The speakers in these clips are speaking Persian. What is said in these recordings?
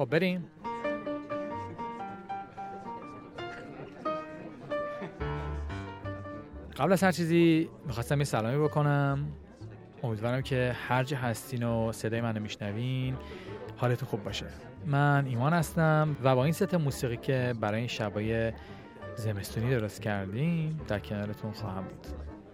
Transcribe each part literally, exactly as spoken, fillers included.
خب بریم. قبل از هر چیزی میخواستم یه سلامی بکنم. امیدوارم که هر جا هستین و صدای منو میشنوین حالتون خوب باشه. من ایمان هستم و با این ست موسیقی که برای این شبای زمستونی درست کردیم در کنارتون خواهم بود.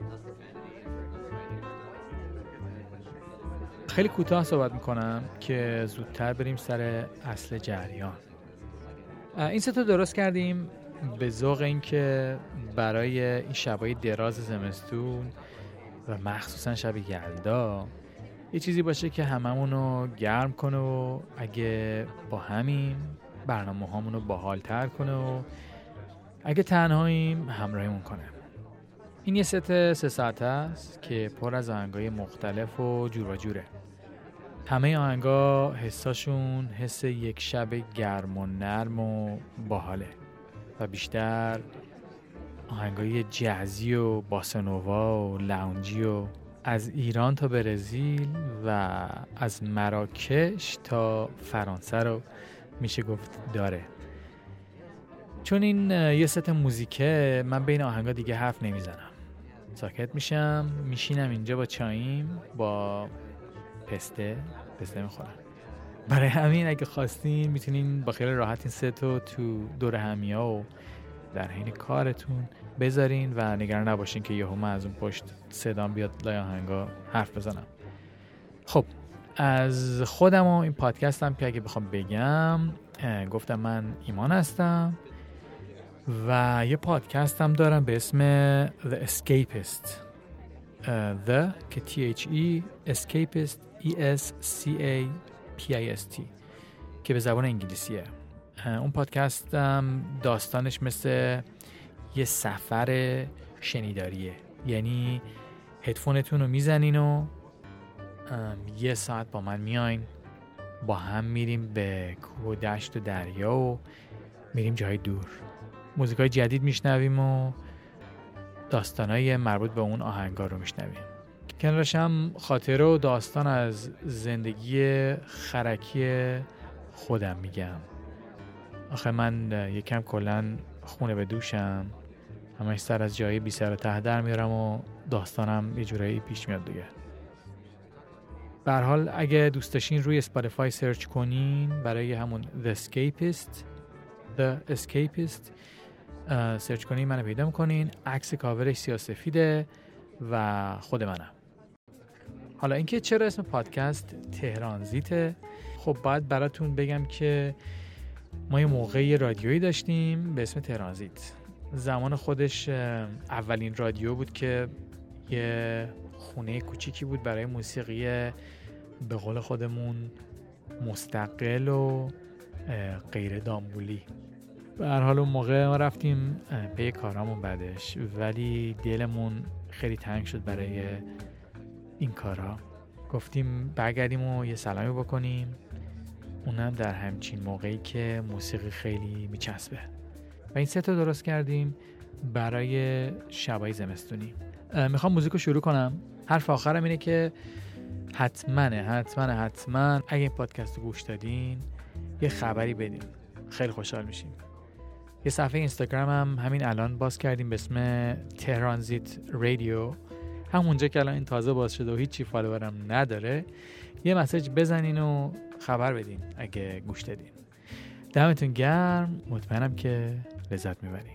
خیلی کوتاه صحبت میکنم که زودتر بریم سر اصل جریان. این ست رو درست کردیم به ذوق این که برای این شبای دراز زمستون و مخصوصا شب یلدا یه چیزی باشه که هممونو گرم کنه و اگه با همین برنامه هامونو باحال‌تر کنه و اگه تنهاییم همراهیمون کنه. این یه ست سه ساعته است که پر از آهنگای مختلف و جور و جوره. همه آهنگا حساشون حس یک شب گرم و نرم و باحاله و بیشتر آهنگای جزی و باسنووا و لاونجی و از ایران تا برزیل و از مراکش تا فرانسه رو میشه گفت داره. چون این یه ست موزیکه من بین آهنگا دیگه حرف نمیزنم، ساکت میشم، میشینم اینجا با چاییم با پسته پسته میخورم. برای همین اگه خواستین میتونین با خیال راحت این ست رو تو دور همیا و در حین کارتون بذارین و نگران نباشین که یهو من از اون پشت صدام بیاد لای آهنگا حرف بزنم. خب از خودم و این پادکستم که اگه بخوام بگم، گفتم من ایمان هستم و یه پادکستم دارم به اسم The Escapist. The که T H E Escapist E S C A P I S T که به زبان انگلیسیه. اون پادکستم داستانش مثل یه سفر شنیداریه، یعنی هدفونتون رو میزنین و یه ساعت با من میاین، با هم میریم به کوه و دشت و دریا و میریم جای دور، موزیکای جدید میشنویم و داستانای مربوط به اون آهنگا رو میشنویم. کنارش هم خاطره و داستان از زندگی خرکی خودم میگم. آخه من یکم کلن خونه به دوشم، همش سر از جایی بی سر و ته در میارم و داستانم یه جورایی پیش میاد دیگه. به هر حال اگه دوست داشتین روی اسپاتیفای سرچ کنین برای همون The Escapist The Escapist سرچ کنین منو پیدا میکنین. عکس کاورش سیاه‌سفیده و خود منم. حالا اینکه چرا اسم پادکست تهرانزیته، خب باید براتون بگم که ما یه موقعی رادیویی داشتیم به اسم تهرانزیت. زمان خودش اولین رادیو بود که یه خونه کوچیکی بود برای موسیقی به قول خودمون مستقل و غیر دامبولی. به هر حال اون موقع ما رفتیم پی کارامون بعدش، ولی دلمون خیلی تنگ شد برای این کارا. گفتیم برگردیم و یه سلامی بکنیم، اونم در همچین موقعی که موسیقی خیلی میچسبه و این ست رو درست کردیم برای شبای زمستونی. میخوام موزیک رو شروع کنم. حرف آخرم اینه که حتما حتما حتما اگه این پادکست رو گوش دادین یه خبری بدین، خیلی خوشحال میشیم. یه صفحه اینستاگرام هم همین الان باز کردیم به اسم تهرانزیت رادیو، همونجا که الان این تازه باز شده و هیچی فالوورم نداره. یه مسیج بزنین و خبر بدین اگه گوش دادین. دمتون گرم، مطمئنم که لذت میبرین.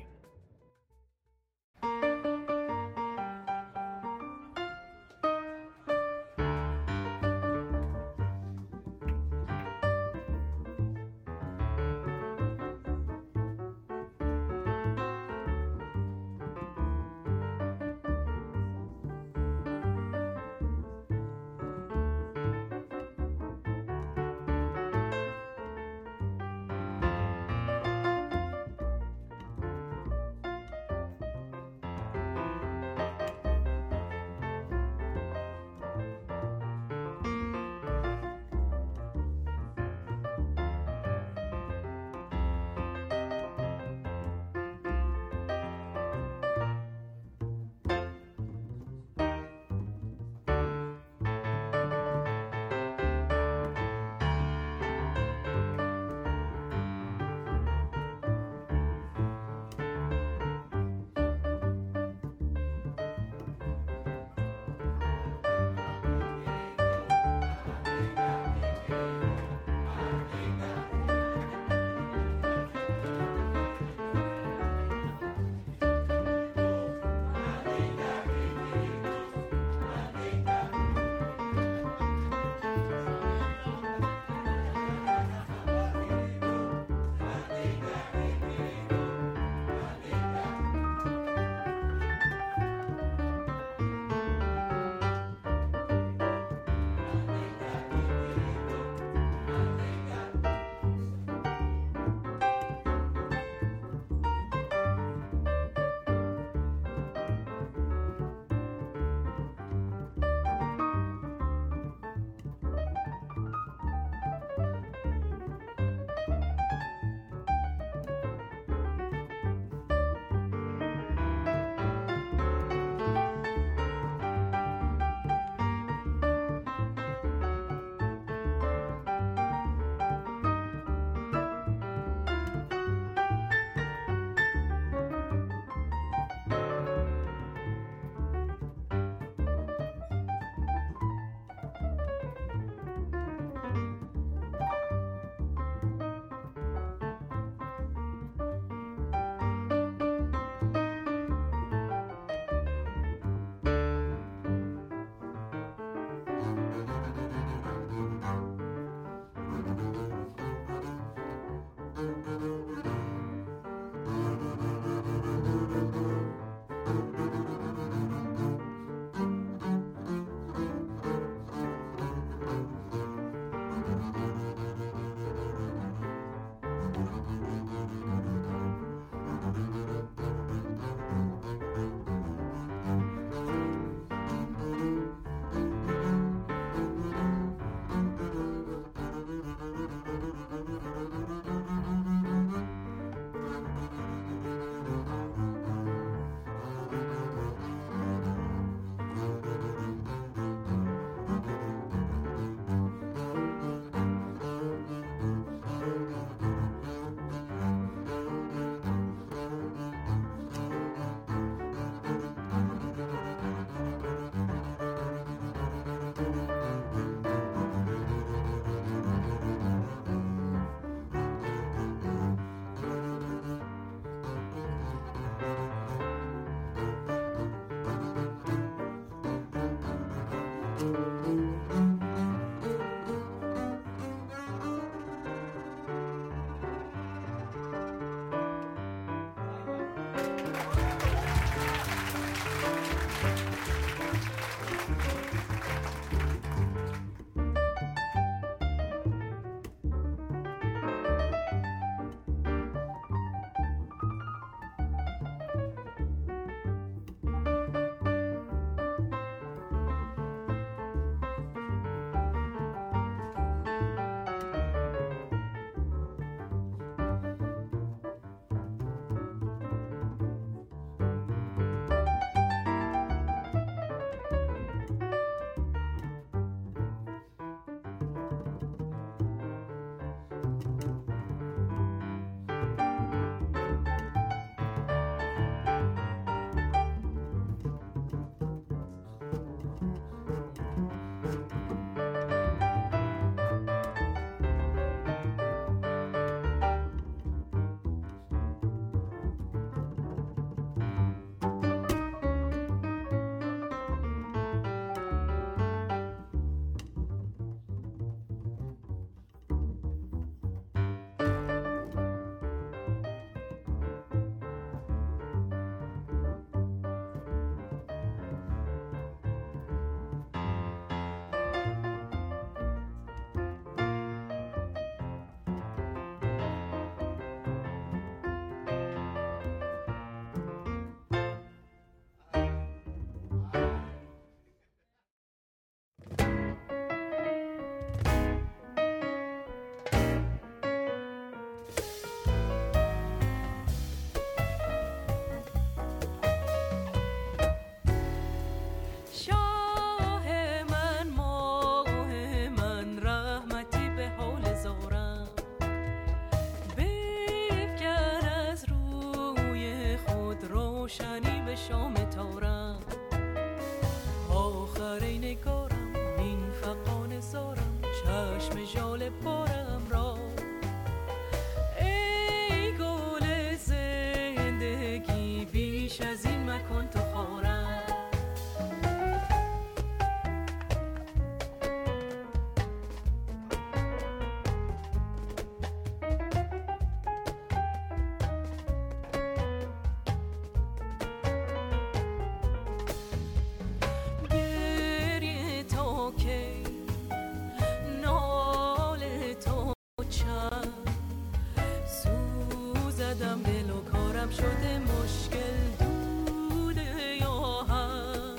شده مشکل دوده یا هم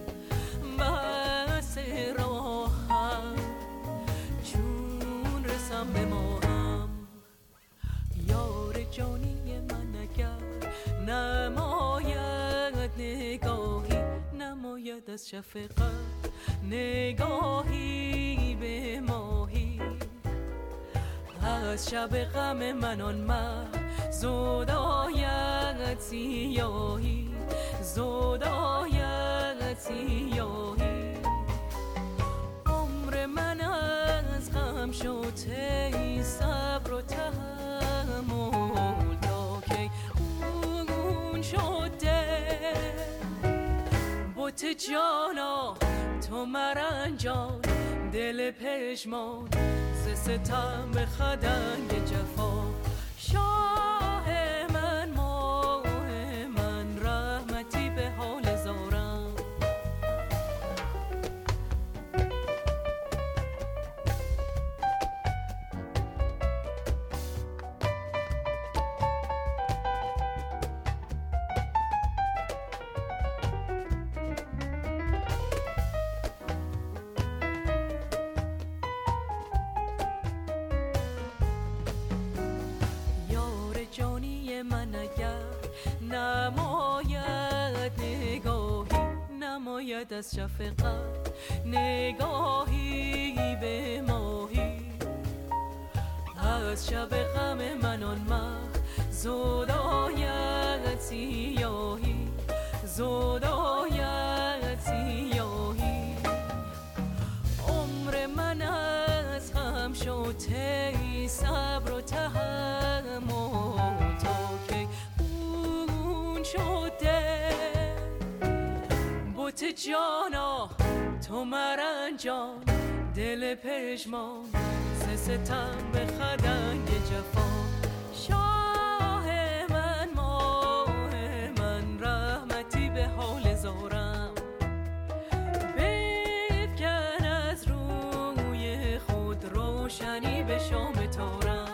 بس راهم چون رسم به ماهم یار جانی من اگر نماید نگاهی نماید از شفقت نگاهی به ماهی از شب غم من آن مه زود آید سیاهی زود آید سیاهی عمر من از غم شد ای صبر و تحمل تا کی خون شده بت جانا تو مرنجان دل پشمان ز ستم به خدنگ جفا شاه من ماه من رحمتی به حال زارم من اگر نماید نگاهی نماید از شفقت نگاهی به ماهی از شب غم من آن مه زود آید سیاهی زود آید سیاهی عمر من از غم شد ای صبر و تحمل شده بت جانا تو مرنجان دل پشمان ز ستم به خدنگ جفا شاه من ماه من رحمتی به حال زارم بفکن از روی خود روشنی به شام تارم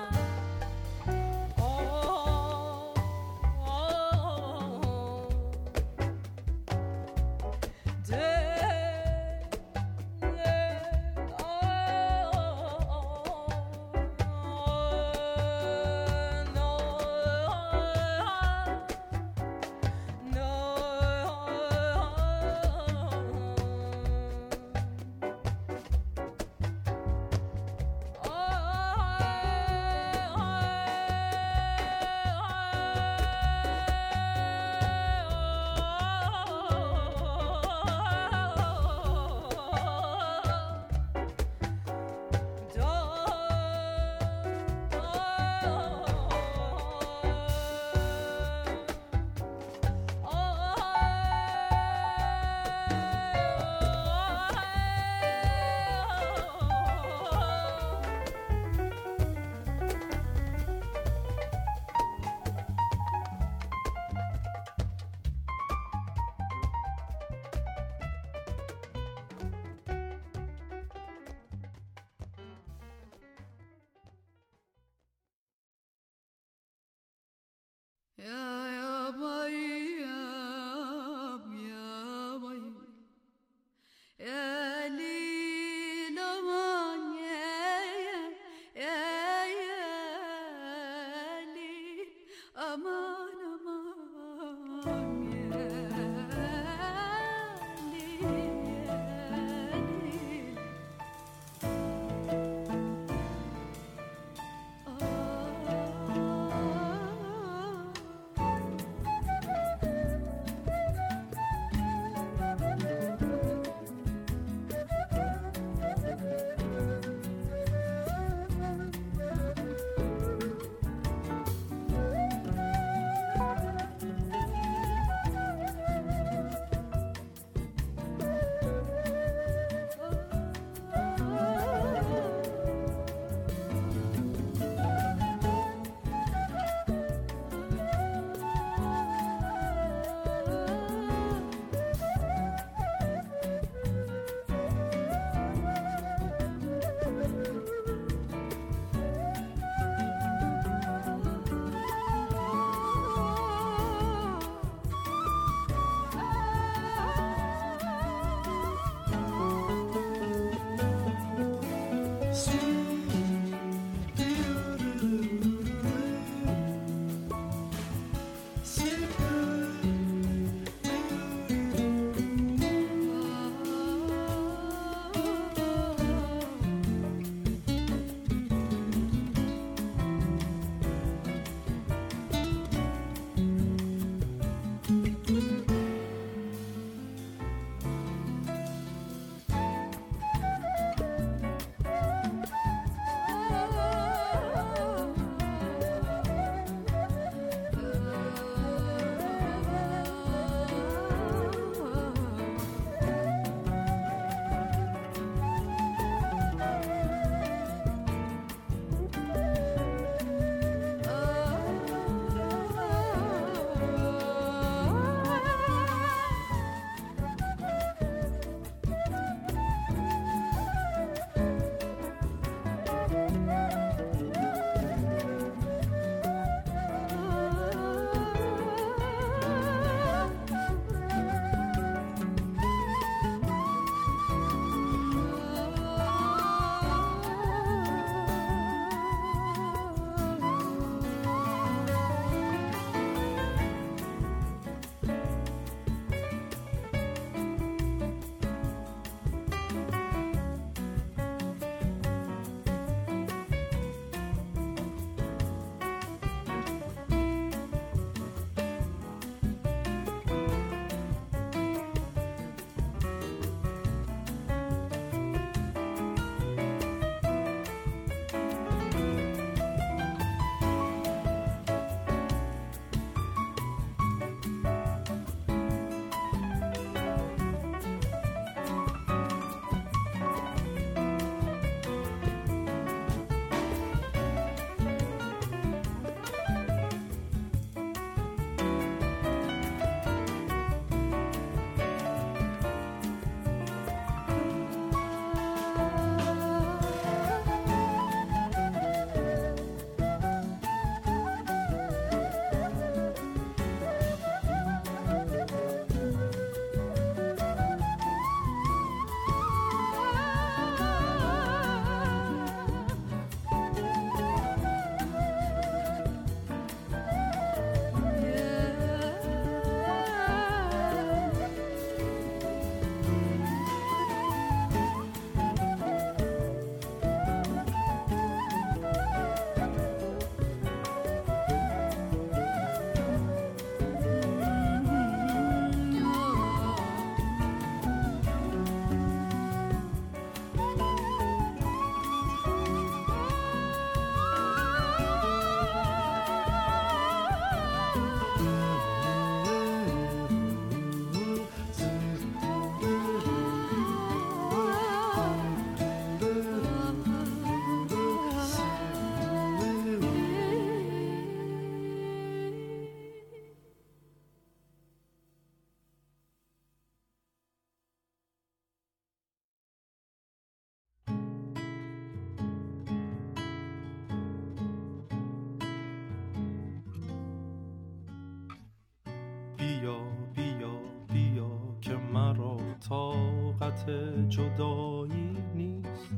جدایی نیست.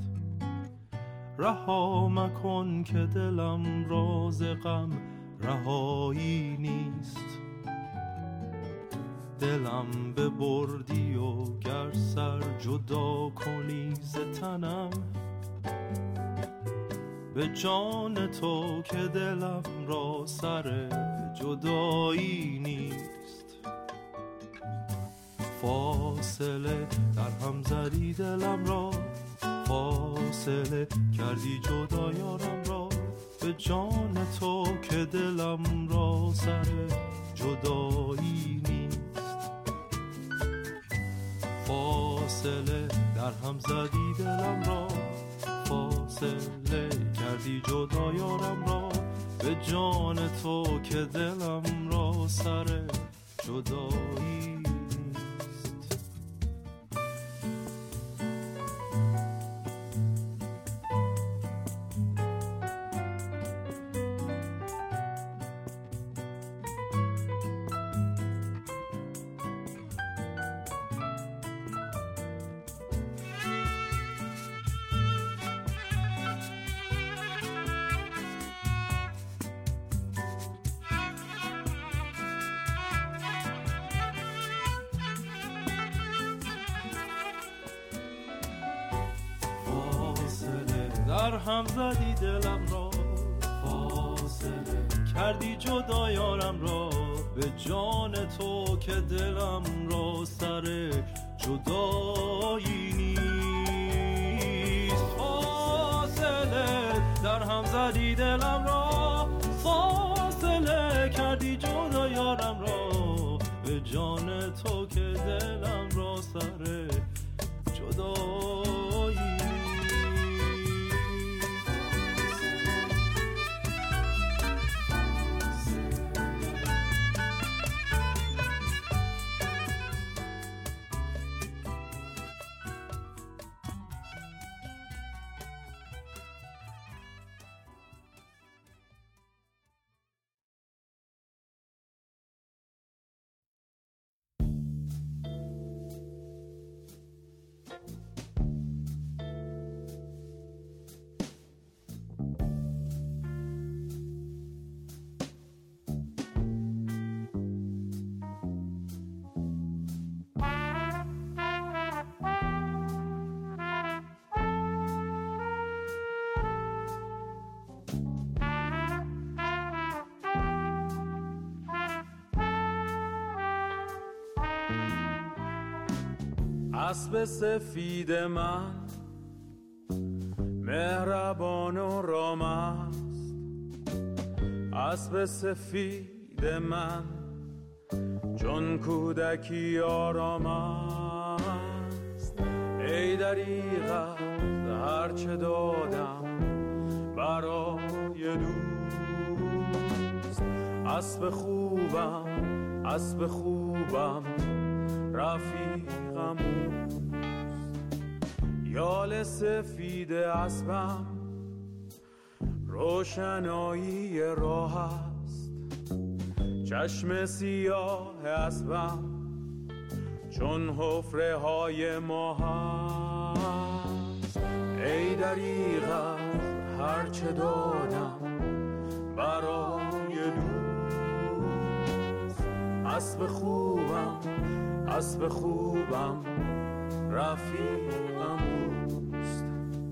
رها مکن که دلم راز غم رهایی نیست. دلم ببردی و گر سر جدا کنی ز تنم، به جان تو که دلم را سر جدایی نیست. فاصله در هم زدی دلم را، فاصله کردی جدا یارم را، به جان تو که دلم را سر جدایی نیست. فاصله در هم زدی دلم را، فاصله کردی جدا یارم را، به جان تو که دلم را سر جدایی نیست. در هم زدی دلم را، فاصله کردی جدا یارم را، به جان تو که دلم را سر جدایی نیست. فاصله در هم زدی دلم را، فاصله کردی جدا یارم را، به جان تو که دلم را سر جدایی نیست. اسب سفید من مهربان و رام است، اسب سفید من چون کودکی آرام است. ای دریغ هرچه دادم برای دوست، اسب خوبم اسب خوبم رفیقم اوست. یال سفید اسبم روشنایی راه است، چشم سیاه اسبم چون حفره های ماه است. ای دریغ از هرچه دادم برای دوست، اسب خوبم اسب خوبم رفیقم اوست.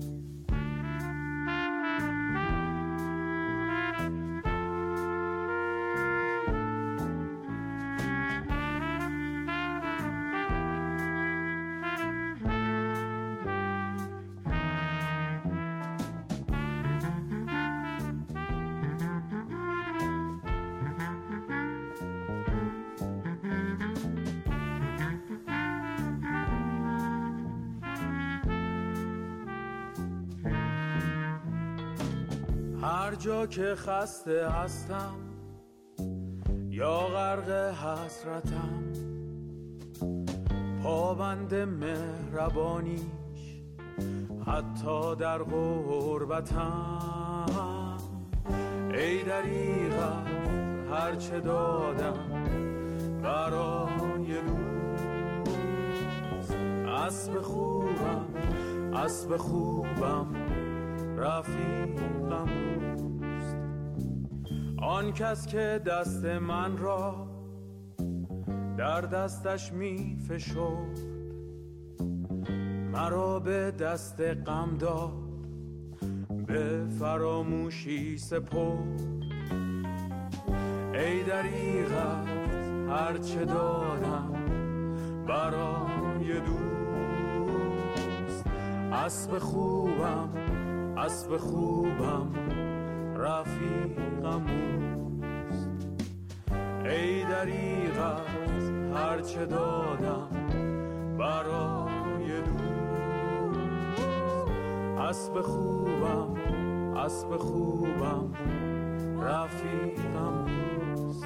هر جا که خسته هستم یا غرق حسرتم، پابند مهربانیش حتی در غربتم. ای دریغ هر چه دادم برای دوست، اسب خوبم اسب خوبم رفیقم اوست. آن کس که دست من را در دستش می فشرد، مرا به دست غم داد به فراموشی سپرد. ای دریغت هرچه دادم برای دوست. اسب خوبم اسب خوبم رفیقم اوست. ای دریغت هرچه دادم برای دوست. اسب خوبم اسب خوبم رفیقم اوست.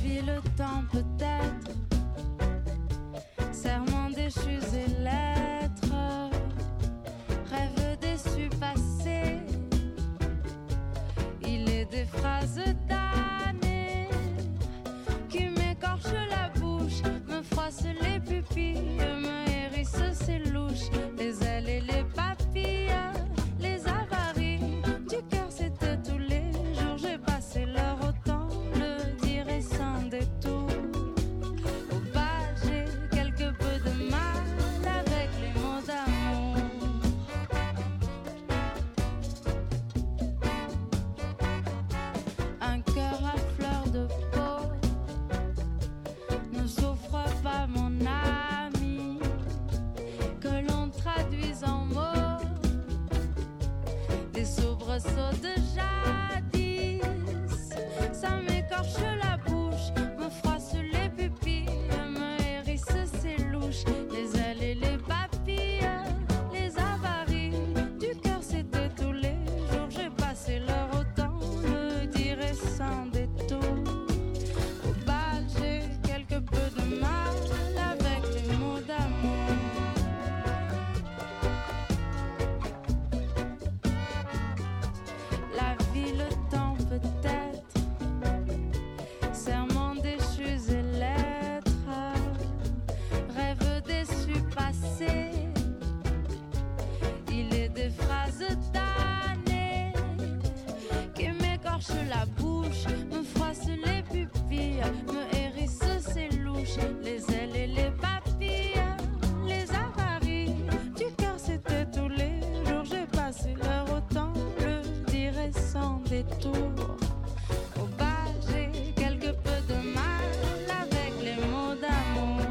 vie, le temps peut-être, serments déchus et lettres, rêves déçus passés, il est des phrases damnées qui m'écorchent la bouche, me froissent les pupilles, me hérissent ses louches, les ailes et les papilles, les avaries du cœur, c'était tous les jours, j'ai passé l'heure autant le dire et sans détour. Au bal, j'ai quelque peu de mal avec les mots d'amour. Un cœur à fleur de peau ne souffre pas, mon ami, que l'on traduise en mots des soubresauts de jadis. Ça m'écorche la bouche, me froisse les pupilles, me hérisse ses louches, les ailes et les papilles, les avaries du cœur, c'était tous les jours. J'ai passé l'heure autant le dire et sans détour. Au bal, j'ai quelque peu de mal avec les mots d'amour. La vie, le temps peut-être, serments déchus et lettres, rêves déçus passés, il est des phrases damnées qui m'écorchent la bouche, me froissent les pupilles, me hérissent ses louches, les ailes et les papilles, les avaries du cœur, c'était tous les jours. J'ai passé l'heure autant le dire et sans détour. Au bal, j'ai quelque peu de mal avec les mots d'amour.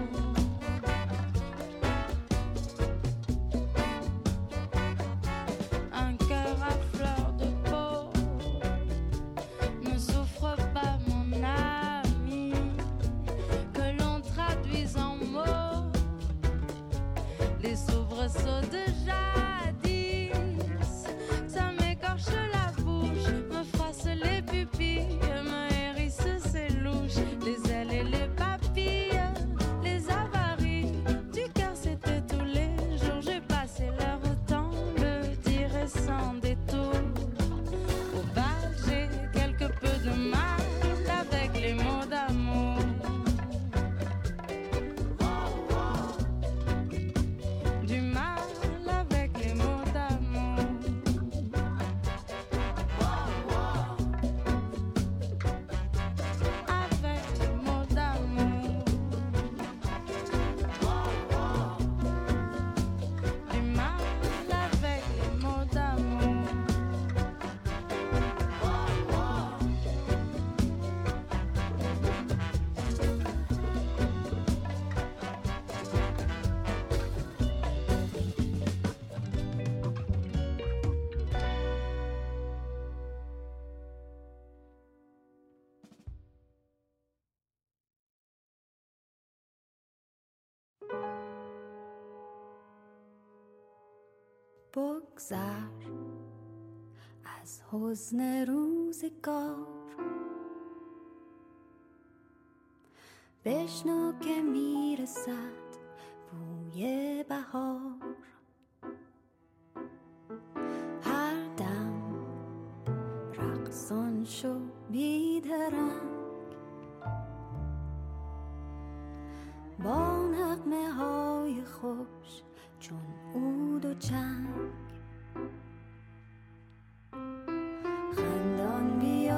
Un cœur à fleur de peau ne souffre pas, mon ami, que l'on traduise en mots les soubresauts de jadis. Ça m'écorche la bouche, me froisse les pupilles, me hérisse ses louches, les ailes et les papilles, les avaries du cœur, c'était tous les jours. J'ai passé l'heure autant le dire et sans détour. Au bal, j'ai quelque peu de mal avec les mots d'amour. Du mal avec les mots d'amour. Avec les mots d'amour. Du mal avec les mots d'amour. بگذر از حزن روزگار، بشنو که میرسد بوی بهار. هر دم رقصان شو بیدرنگ، با نغمه های خوش چون عود و چنگ. خندان بیا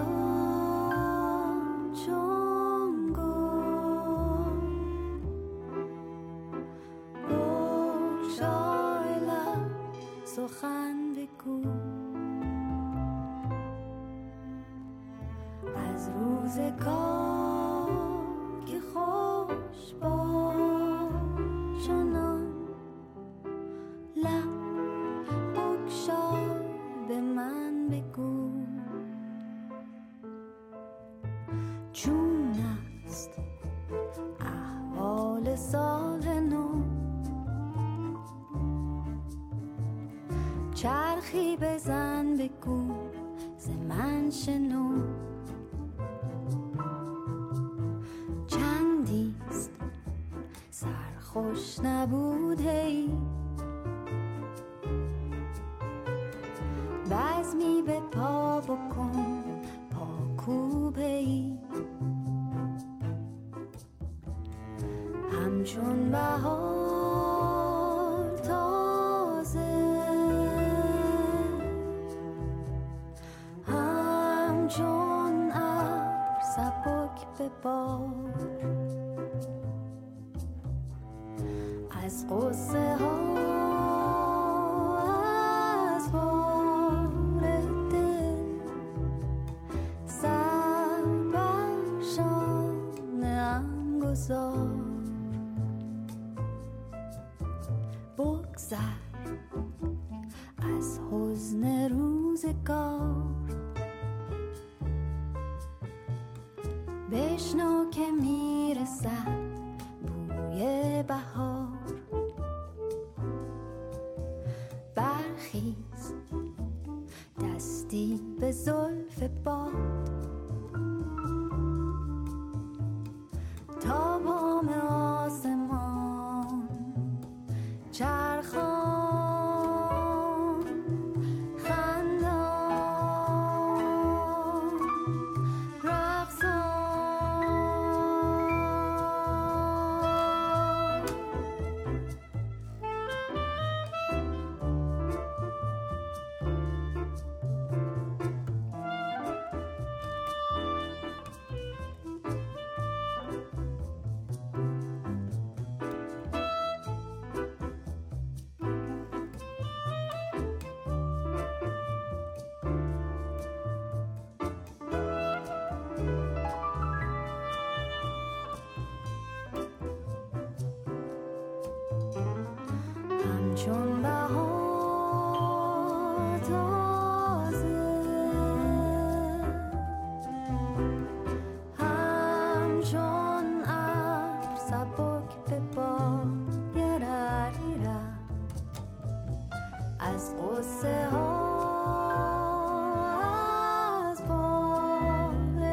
چون گل، بگشای لب سخن بگو از روزگار که خوش باد. چنان لب بگشای به من بگو چون است احوال سال نو. چرخی بزن بگو ز من شنو، خوش نبود هی بزمی به پا بکن پا کوبه ای همچون بهار تازه همچون ابر سبک به بار از قصه ها از بار دل سر بر شانه‌ام گذار بگذر از حزن روزگار بشنو که میرسد بوی بهار برخیز دستی به زلف باد تا بام آسمان چرخان خندان رقصان همچون بهار تازه همچون ابر سبک به باد گراییره از قصه ها از بار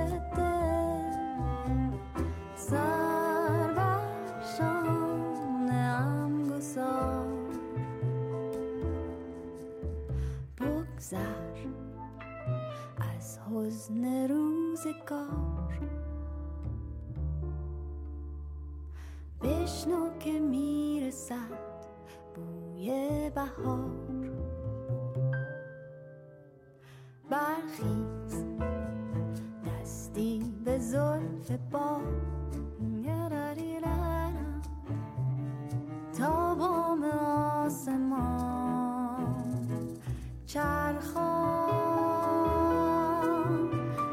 دل سر بر شانه‌ام گذار بگذر از حزن روزگار بشنو که میرسد بوی بهار برخیز دستی به زلف باد تا بام آسمان چرخان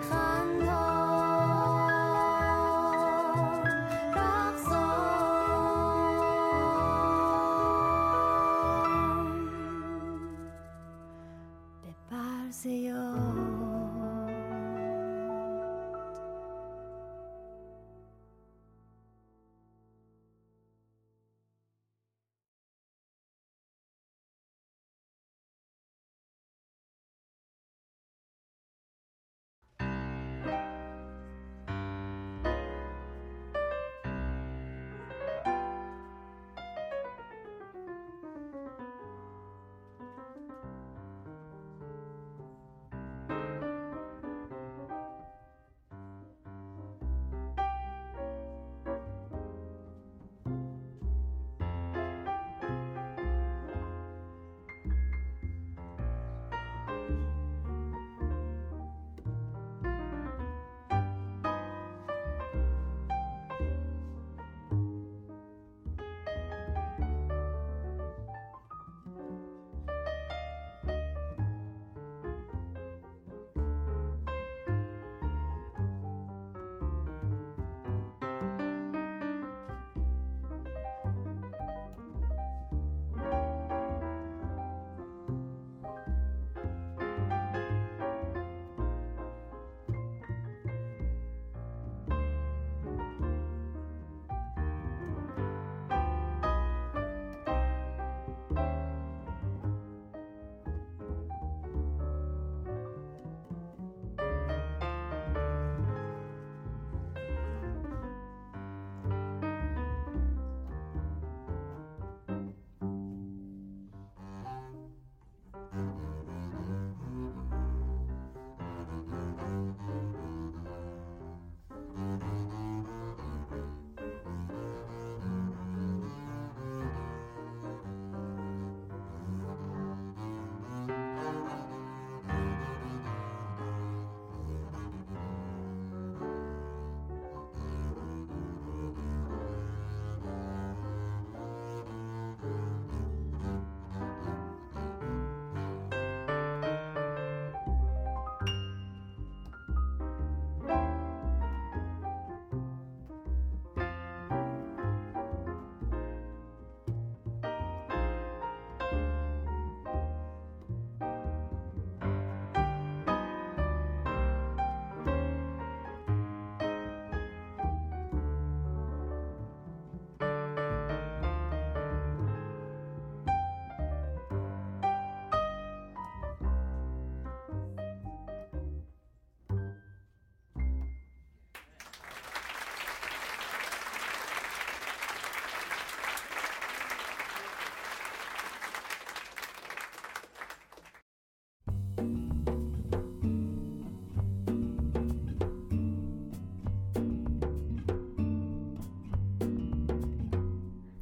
خندان رقصان به برز یاد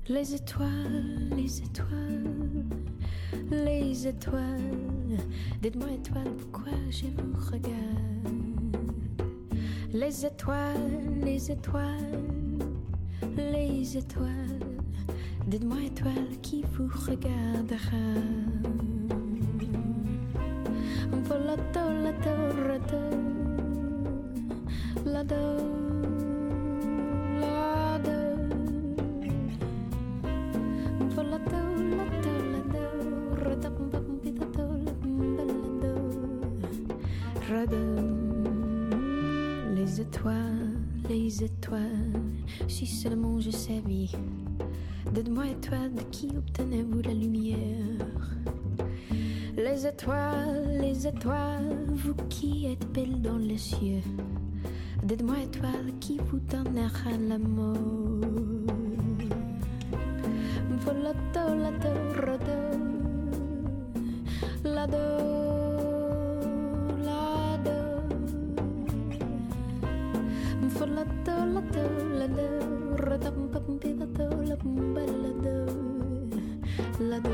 Les étoiles, les étoiles, les étoiles. Dites-moi étoiles, pourquoi je vous regarde? Les étoiles, les étoiles, les étoiles. Dites-moi étoiles, qui vous regardera? Volato, lato, rato, lado, lado. Volato, lato, lado, rato, pampitato, lado, rado. Les étoiles, les étoiles, si seulement je savais. Dites-moi étoiles, de qui obtenez-vous la lumière? Les étoiles, les étoiles, vous qui êtes belles dans les cieux. Dites-moi étoiles, qui vous donnera l'amour? Volato, lato, rado, lado, lado. Volato, lato, lado, rado, pampitato, lado, lado.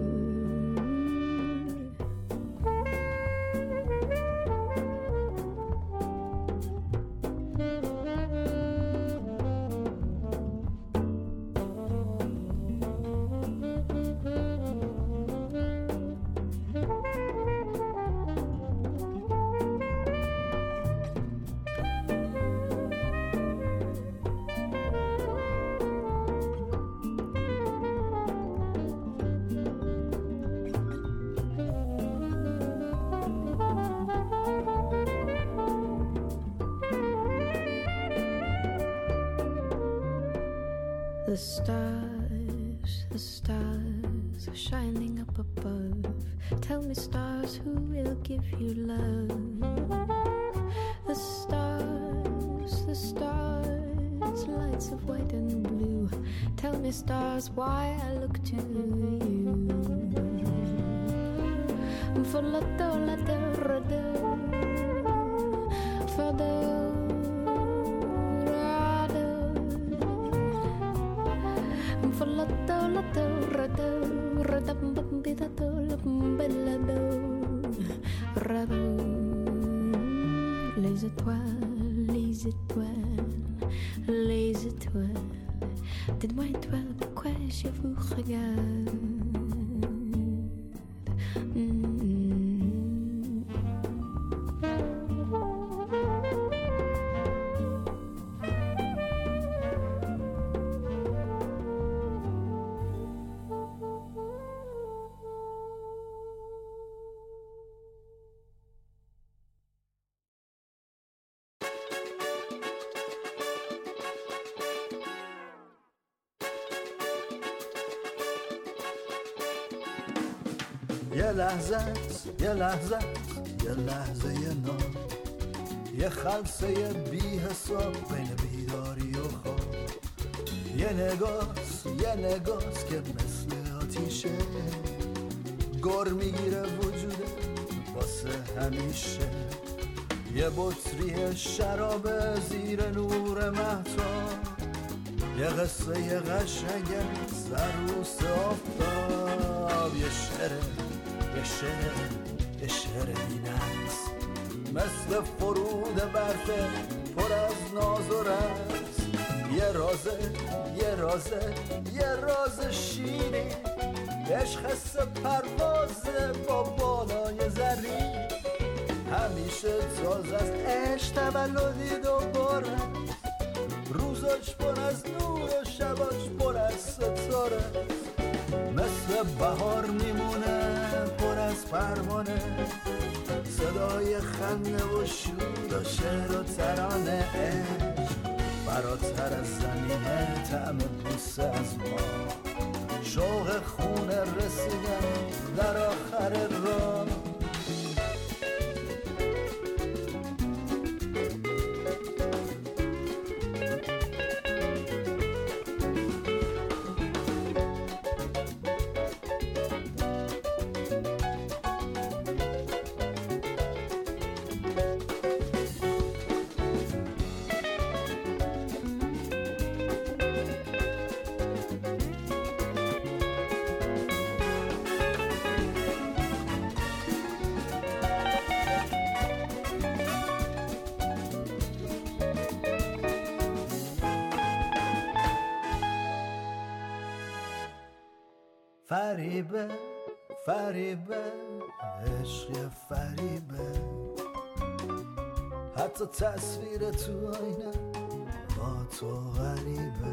The stars, the stars are shining up above. Tell me, stars, who will give you love? The stars, the stars, lights of white and blue. Tell me, stars, why I look to you. Volato, lato, rado, fado. Volato, lato, rado, rado, pampitato, lado, rado. Les étoiles, les étoiles, les étoiles. Dites-moi étoiles, pourquoi je vous regarde? Mm-hmm. یه لحظه یه لحظه یه لحظه یه نام، یه خلصه بی حساب بین بیداری و خواب. یه نگاست یه نگاست که مثل آتیشه، گر میگیره وجوده واسه همیشه. یه بطری شراب زیر نور مهتاب، یه قصه یه قشنگه سروس آفتاب. یه شعره یه شعر یه شعر بی‌نقص، مثل فرود برفه پر از ناز و رقص. یه رازه یه رازه یه راز شیرین، عشق حس پروازه با بالای زرین. همیشه تازه از عشق تولدی دوباره، روزاش پر از نور و شباش پر از ستاره. مثل بهار میمونه پر از پروانه، صدای خنده و شور و شعر و ترانه. عشق فراتر از زمینه، طعم بوسه از ما، شوق خونه رسیدن در آخر راه. فریبه فریبه عشق فریبه، حتی تصویر تو آینه با تو غریبه.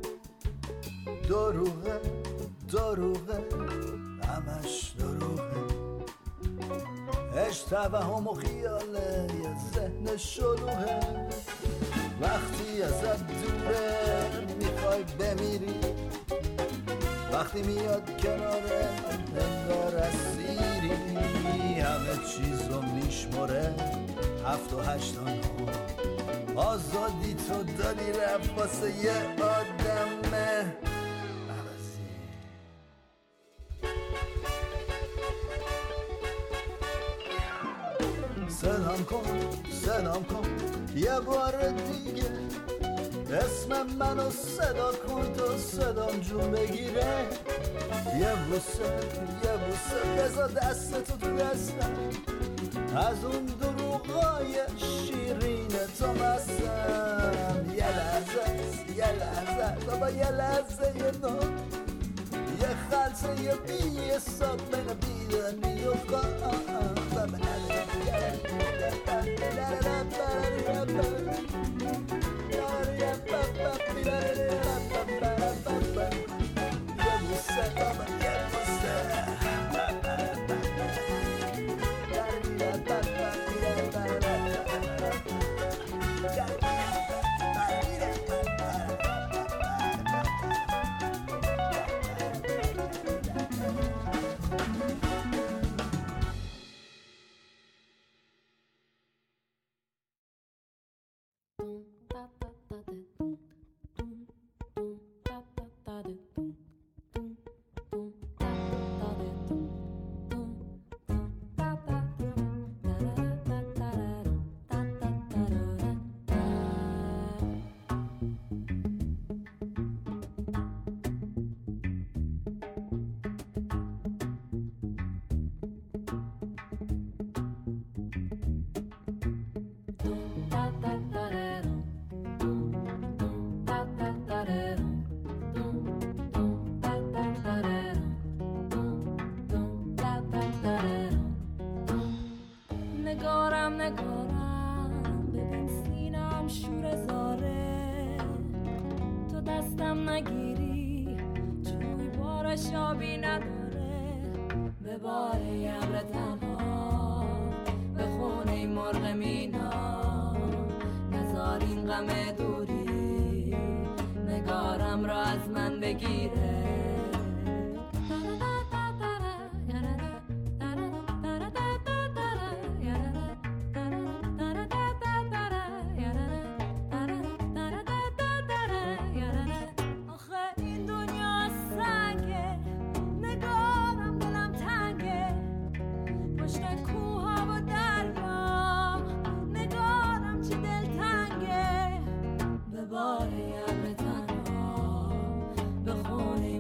دروغه دروغه همش دروغه، عشق توهم و خیاله یه ذهن شلوغه. وقتی ازت دوره میخوای بمیری، وقتی میاد کناره انگار اسیری. همه چیز رو میشمره هفت و هشتان ها، آزادی تو دادی رفت واسه یه آدم عوضی. سلام کن سلام کن یه بار دیگه، اسم منو صدا کن تا صدام جون بگیره. یه بوسه یه بوسه بذار دستتو تو دستم، از اون دروغای شیرین تو مستم. یه لحظه یه لحظه بابا یه لحظه یه نو، یه خلطه یه بی حساب بین بیدنی و خواه. نگارم نگارم ببین سینم شور زاره، تو دستم نگیری جوی بارش آبی نداره. به بار ابر تنها به خونه مرغ مینا، نزار این غم دوری نگارم را از من بگیره. به بار ابر تنها به خونه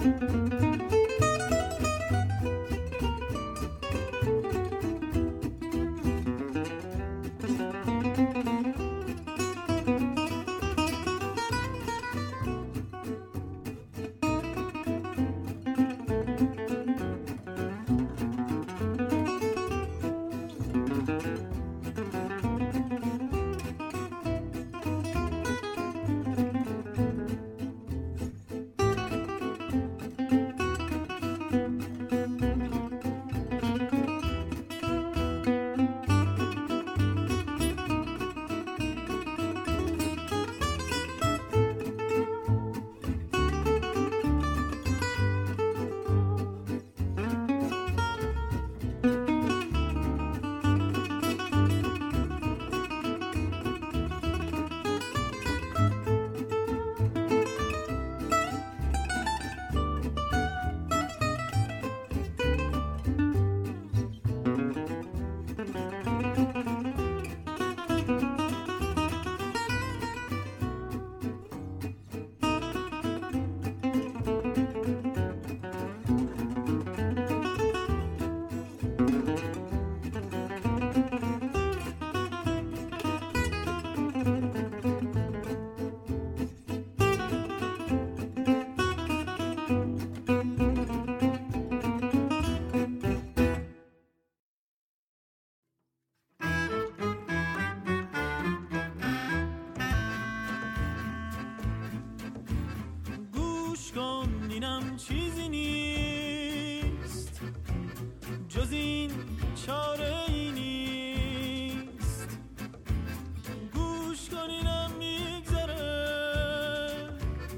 چیزی نیست جز این، چاره ای نیست. گوش کنینم میگذره،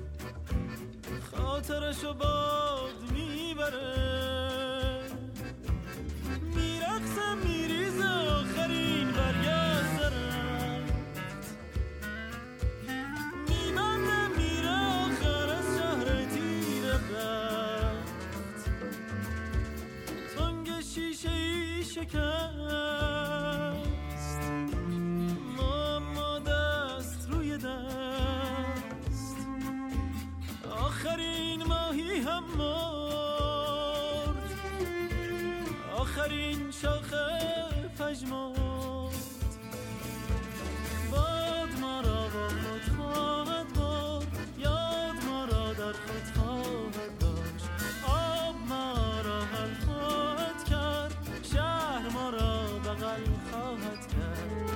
خاطرشو باد میبره، میرقصه میریزه آخرین برگشت رفت، میبنده میره آخر از شهر تیره رفت. تنگ شیشه ای شکست، ما دست روی دست، آخرین ماهی هم مرد، آخرین شاخه پژمرد. باد ما را با خود خواهد برد، یاد ما را در خود خواهد داشت، آب ما را حل خواهد کرد، شهر ما را بغل خواهد کرد.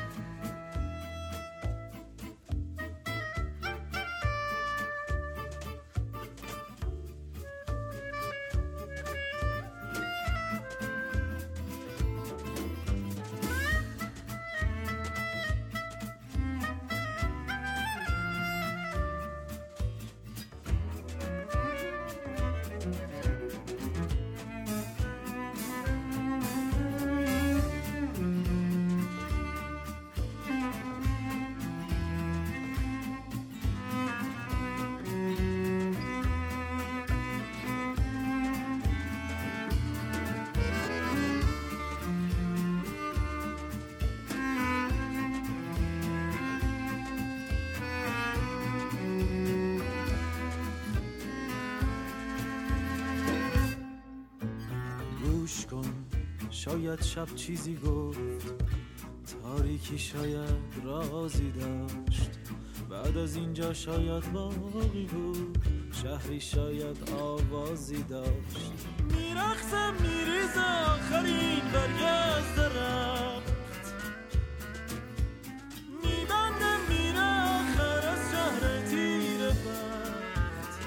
گوش کن، شاید شب چیزی گفت، تاریکی شاید رازی داشت، بعد از اینجا شاید باقی بود، شهری شاید آوازی داشت. میرقصه میریزه آخرین برگشت رفت، میبنده میره آخر از شهر تیره رفت.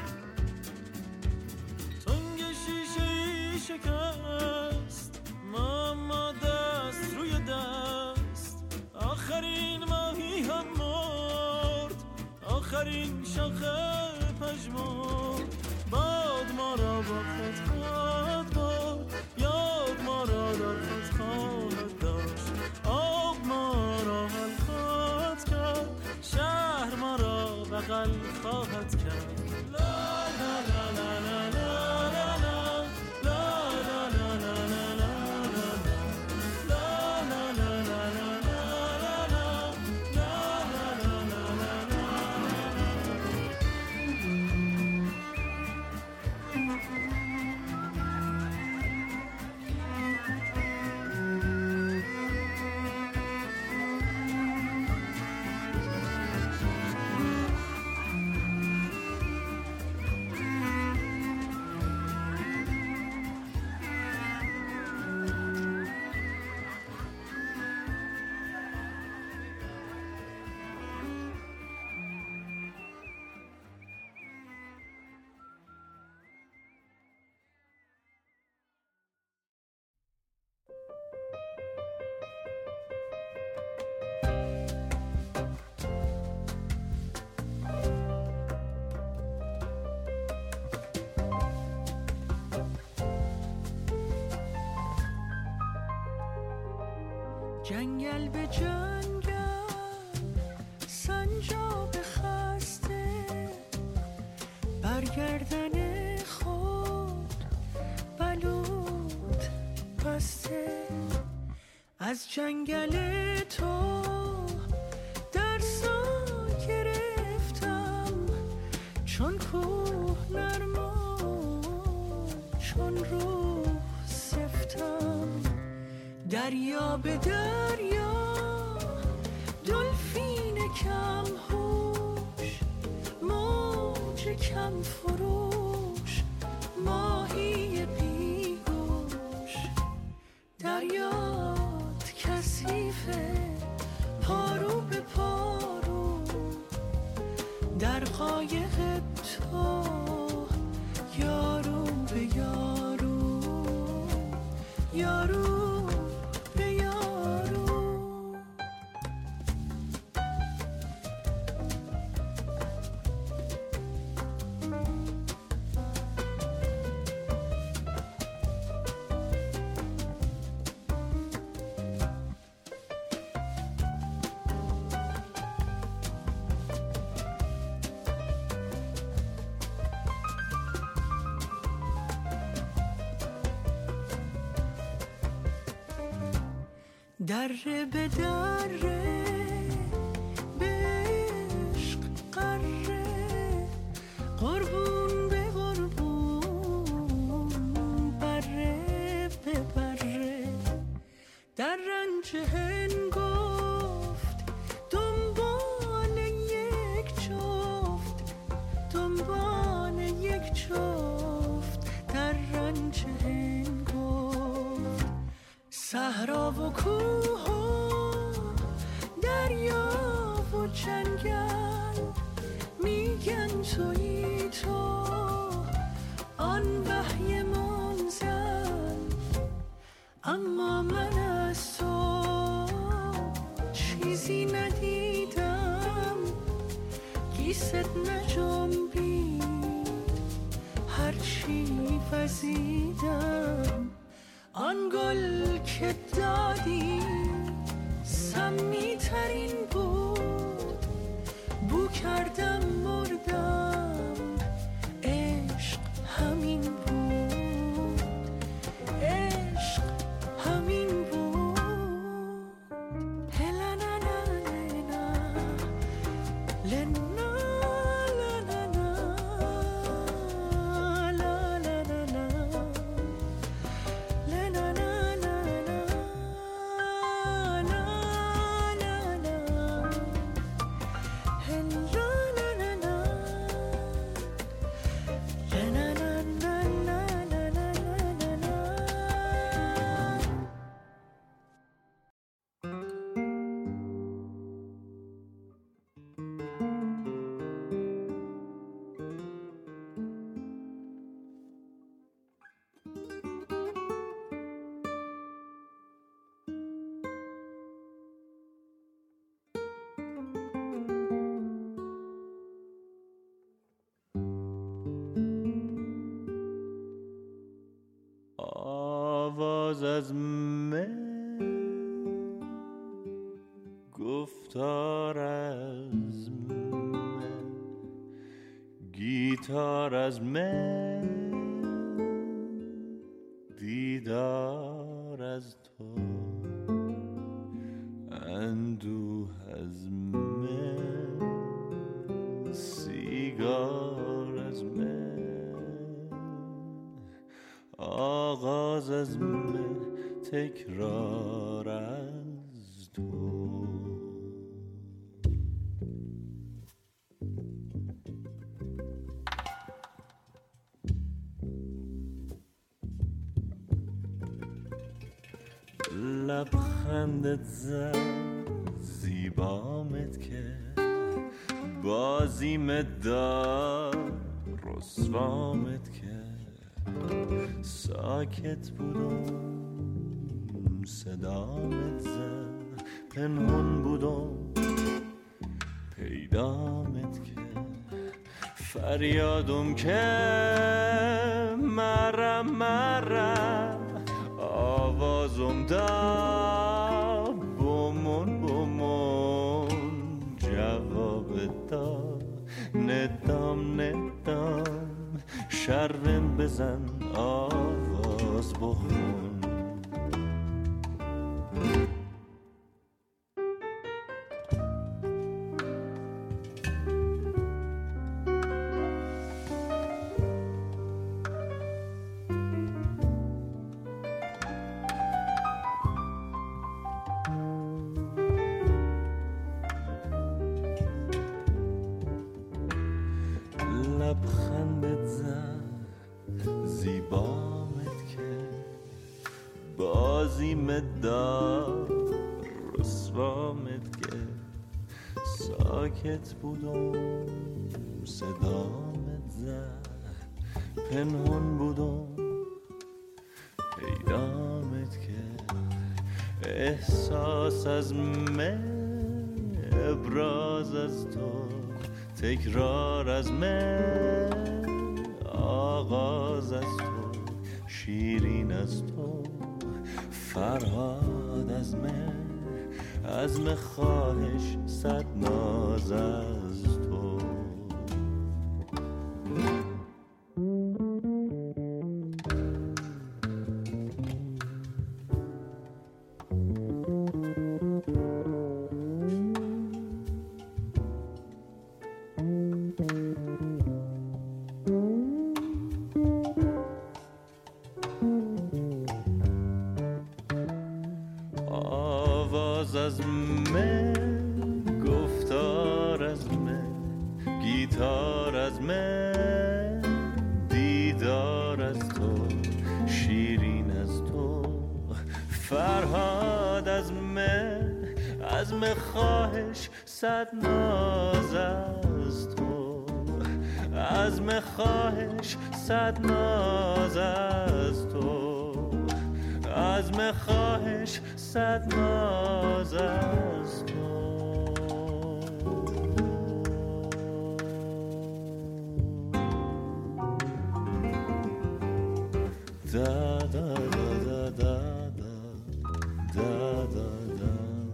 تنگ شیشه ای شکست، ما دست روی دست، آخرین ماهی هم مرد، آخرین شاخه پژمرد. باد ما را با خود خواهد برد، یاد ما را در خود خواهد داشت، آب ما را حل خواهد کرد، شهر ما را بغل خواهد کرد. لا لا لا لا لا لا جنگل به جنگل سنجاب خسته برگردن خود بلود بسته از جنگل تو درسا گرفتم چون کوه نرما چون روح سفتم دریا به دریا دلفین کم هوش موج کم فروش ماهی بیگوش دریات کثیفه پارو به پارو در قایق تو یارو به یارو یارو دره به دره به عشق قره قربون به قربون بره به بره در رنج هنگفت دنبال یک جفت دنبال یک جفت در رنج هنگفت صحرا و کوه و دریا و جنگل میگن تویی تو آن وحی منزل اما من از تو چیزی ندیدم گیست نجنبید هرچی وزیدم آن گل که دادی سمی ترین بود بو کردم مردم عشق همین بود عشق همین بود هلا لا لا لا آواز از من گفتار از من گیتار از من دیدار از تو اندوه از من سیگار از من آغاز از من تکرار از تو لبخندت زد زیبامت کرد بازیمت داد رسوامت کرد ساکت بودم صدامت زد پنهون بودم پیدامت کرد فریادم که مرم مرم آوازم دا ندام ندام شرم بزن آواز بخون لبخندت زن زیبامت که بازیمت دار رسوامت که ساکت بودم صدامت زد پنهون بودم پیدامت که احساس از من ابراز از تو تکرار از من آغاز از تو شیرین از تو فرهاد از من عزم خواهش صد ناز از تو آواز از من گفتار از من گیتار از من دیدار از تو شیرین از تو فرهاد از من عزم خواهش صد ناز از تو عزم خواهش صد ناز از تو عزم خواهش صد ناز از تو دا دا دا دا دا دا دا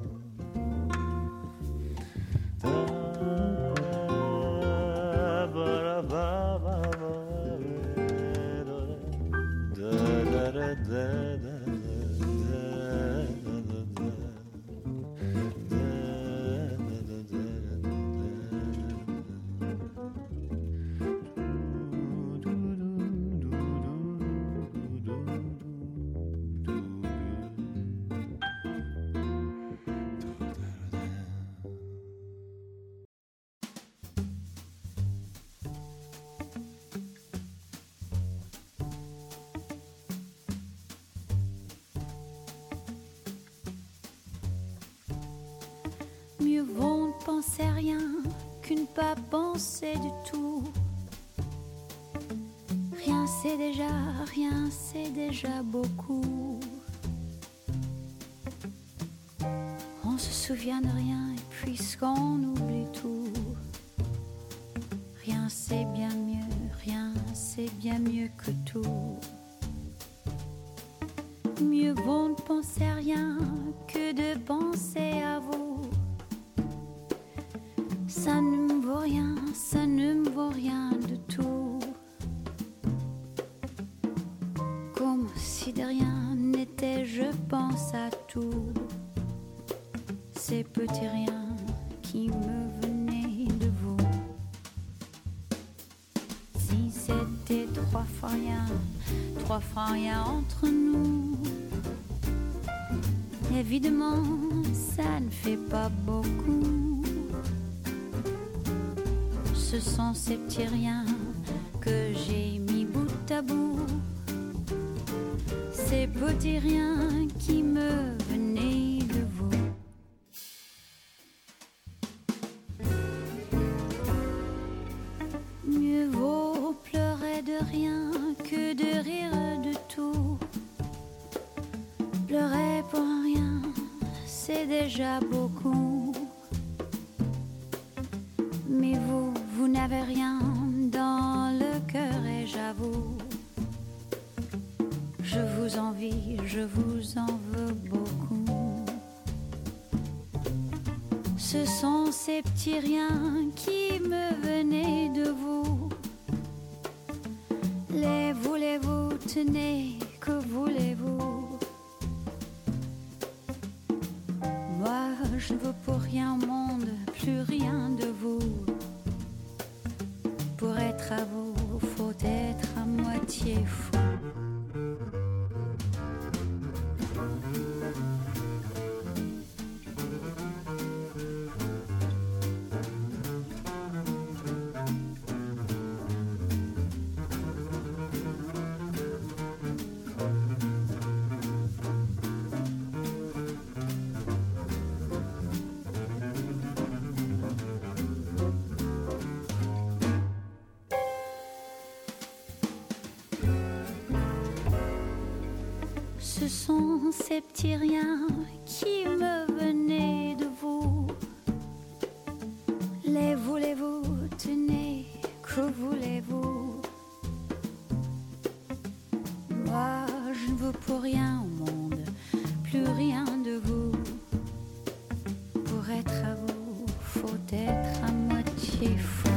Mieux vaut ne penser rien qu'une ne pas penser du tout. Rien c'est déjà, rien c'est déjà beaucoup. On se souvient de rien et puisqu'on oublie tout. Rien c'est bien mieux, rien c'est bien mieux que tout. Mieux vaut ne penser rien que de penser à vous. Ça ne me vaut rien, ça ne me vaut rien de tout. Comme si de rien n'était, je pense à tout. Ces petits riens qui me venaient de vous. Si c'était trois fois rien, trois fois rien entre nous. Évidemment, ça ne fait pas beaucoup. Ce sont ces petits riens que j'ai mis bout à bout. Ces petits riens qui me venaient de vous. Mieux vaut pleurer de rien que de rire de tout. Pleurer pour rien, c'est déjà beaucoup. Mais vous, vous n'avez rien dans le cœur et j'avoue, je vous envie, je vous en veux beaucoup. Ce Ce sont ces petits riens qui me venaient de vous. Les voulez-vous, tenez, que voulez-vous? Moi, je ne veux pour rien au monde, plus rien de vous. Pour être à vous, faut être à moitié fou. Ce sont ces petits riens qui me venaient de vous. Les voulez-vous, tenez, que voulez-vous? Moi, je ne veux pour rien au monde, plus rien de vous. Pour être à vous, faut être à moitié fou.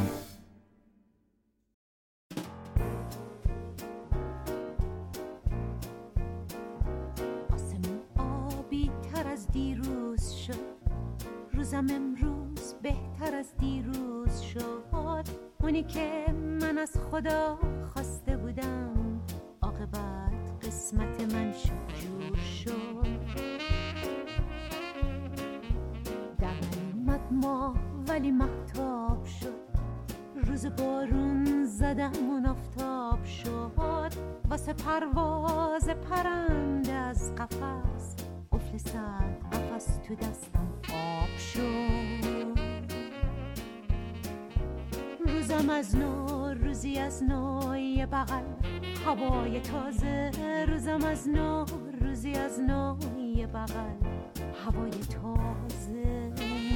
روزم امروز بهتر از دیروز شد. اونی که من از خدا خواسته بودم عاقبت قسمت من شد جور شد. در نیومد ماه ولی مهتاب شد. روز بارون زدم اون آفتاب شد. واسه پرواز پرنده از قفس قفل سد قفس تو دستم آب شد. روزم از نو روزی از نو یه بغل هوای تازه. روزم از نو روزی از نو یه بغل هوای تازه.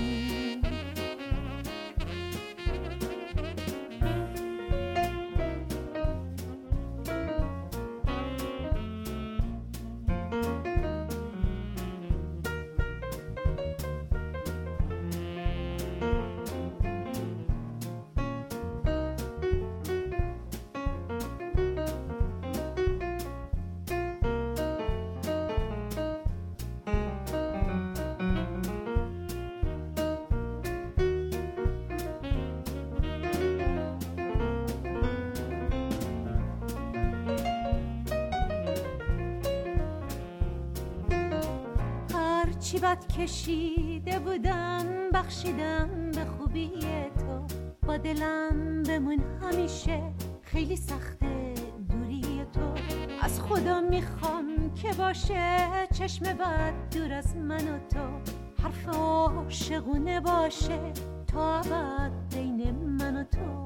چی بد کشیده بودم بخشیدم به خوبی تو. با دلم بمون همیشه خیلی سخته دوری تو. از خدا میخوام که باشه چشم بد دور از من و تو. حرف عاشقونه باشه تا ابد بین من و تو.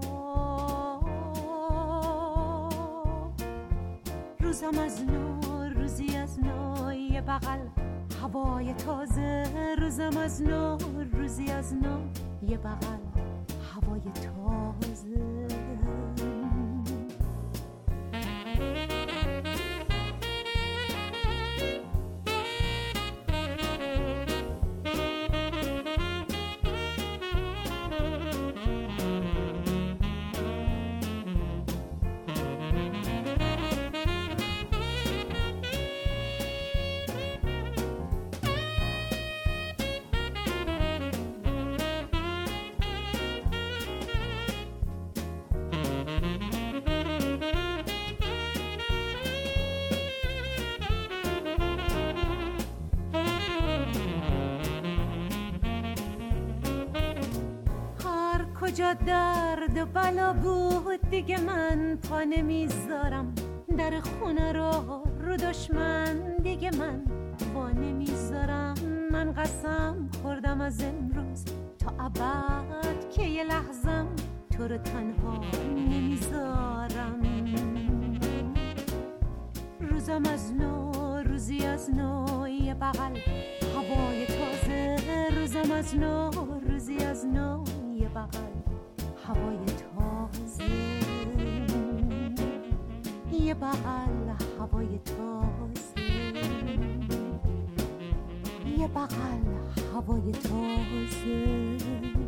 روزم از نو روزی از نو یه بغل هوای تازه. روزم از نو روزی از نو یه بغل هوای تازه. کجا درد و بلا بود دیگه من پا نمیذارم. در خونه رو رو دشمن دیگه من پا نمیذارم. من قسم خوردم از امروز تا ابد که یه لحظم تو رو تنها نمیذارم. روزم از نو روزی از نو یه بغل هوای تازه. روزم از نو روزی از نو یه بغل هوای تازه. یه بغل هوای تازه. یه بغل هوای تازه.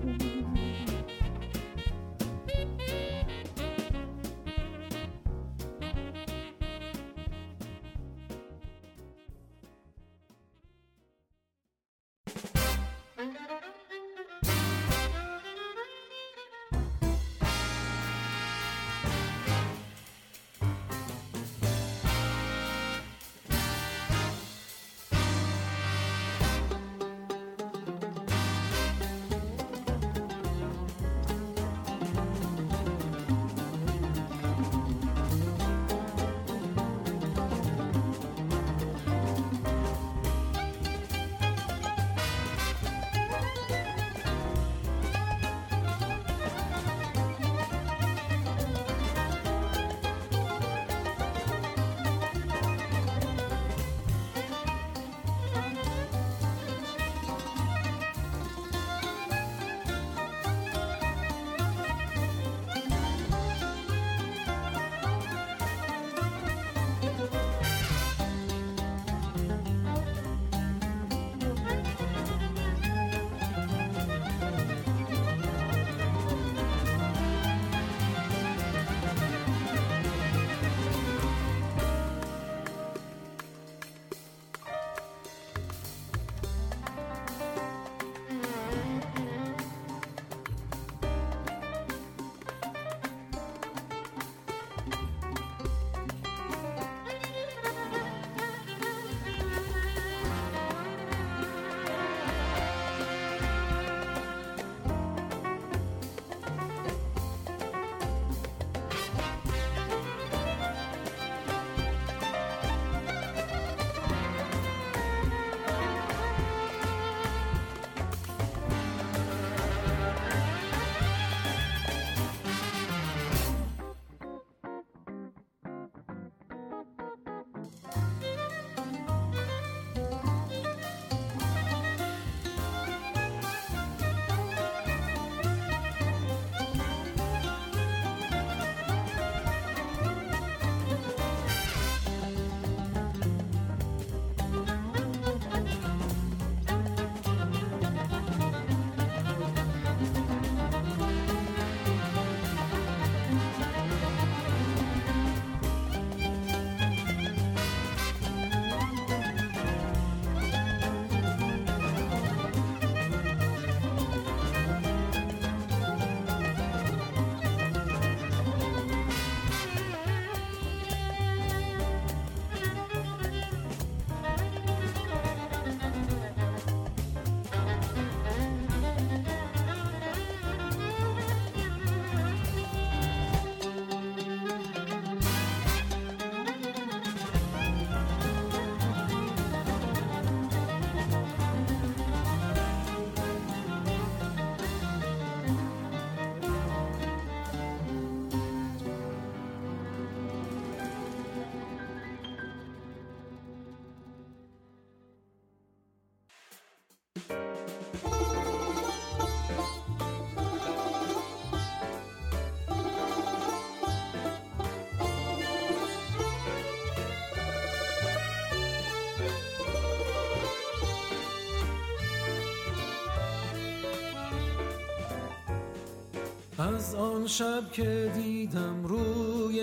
از آن شب که دیدم روی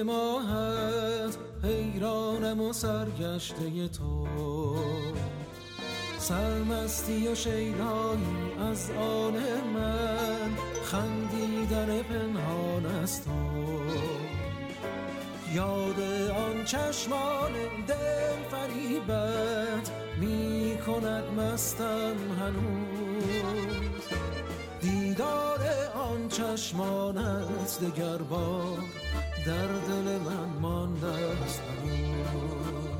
ماهت، حیرانم و سرگشته تو، سرمستی و شیدایی از آن من، خندیدن پنهان از تو. یاد آن چشمان دل فریبت می کند مستم هنوز، دیدار آن چشمانت دگر بار در دل من مانده است هنوز.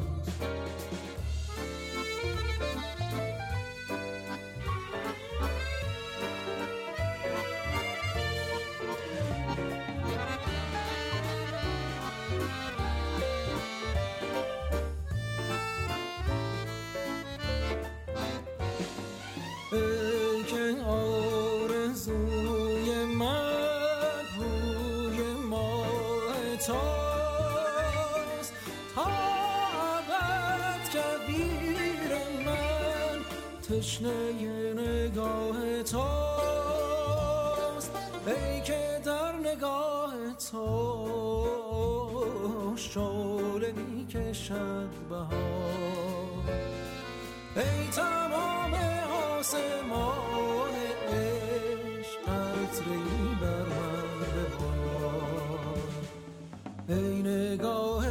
ای که آرزوی من روی ماه تاست، تا تشنه نگاه توست، ای که در نگاه تو شعله می کشد بهار، ای تمام آسمان عشق عطری بر من ببار، ای نگاه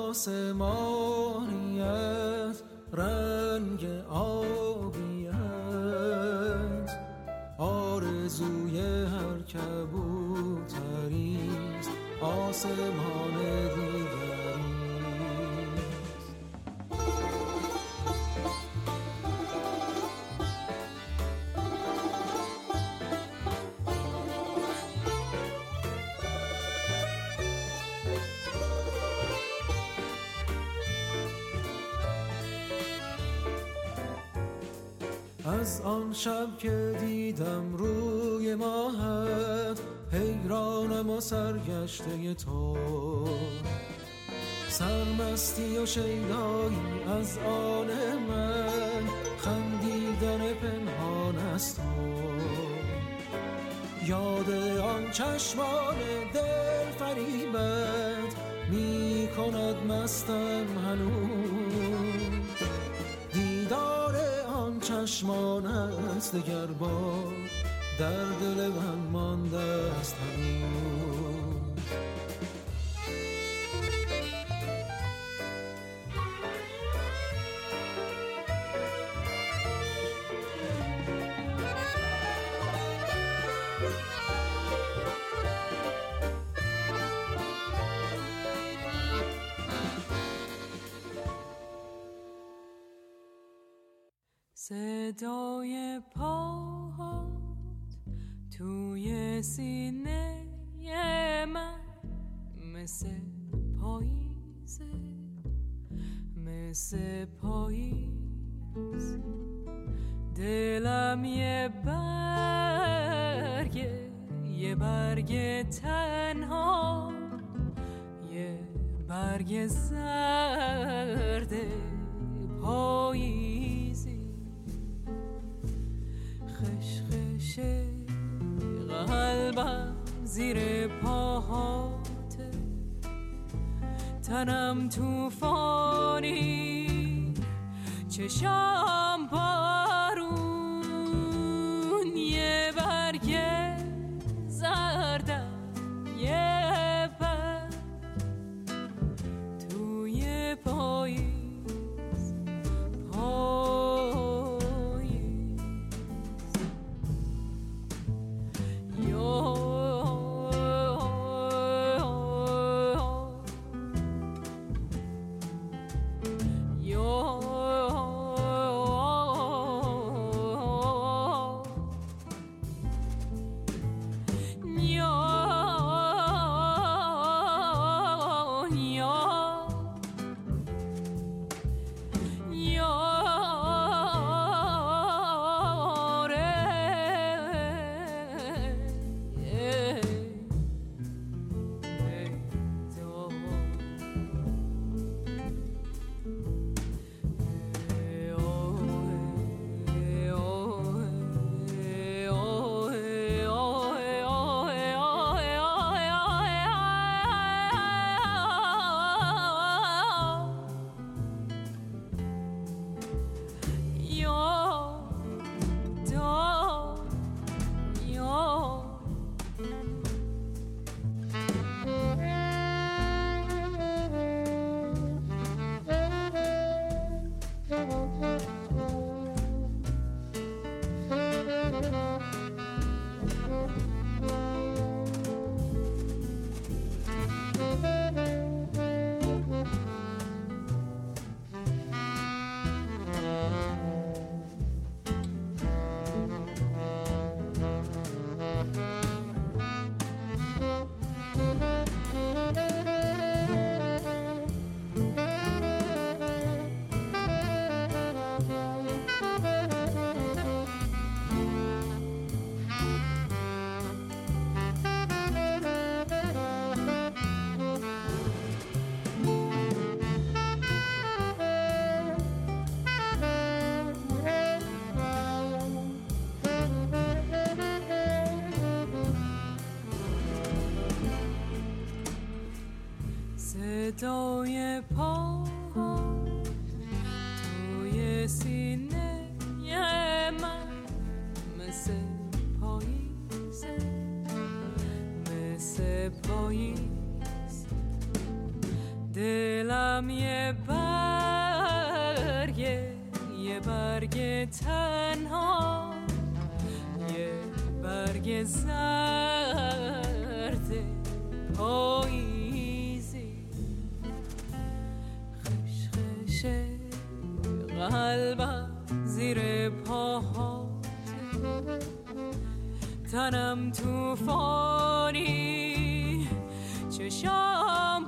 آسمانیت رنگ آبیت، آرزوی هر کبوتریست آسمان دیگریست. از آن شب که دیدم روی ماهت، حیرانم و سرگشته تو، سرمستی و شیدایی از آن من، خندیدن پنهان از تو، یاد آن چشمان دل فریبت می کند مستم هنوز، دیدار آن چشمان است دگر بار در دل من مانده است هنوز. صدای پاهات توی سینه من مثل پاییزه، مثل پاییز، دلم یه برگه، یه برگ تنها، یه برگ زرد پاییزی، خشخش قلبم زیر پاهاته، تنم توفانی، چشام بارون، یه برگ زردم، یه برگ توی پاییز، پاییز یو پا توی سینه من مثل پاییزه، مثل پاییز. دلم یه برگه، یه برگ تنها، یه برگ زرد پاییزی. خش خش قلبم زیر پاها، تنم توفانی، چشام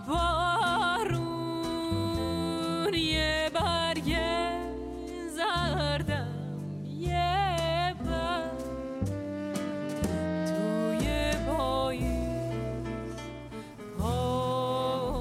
بارون. یه برگ زردم، یه برگ توی پاییز پاییز.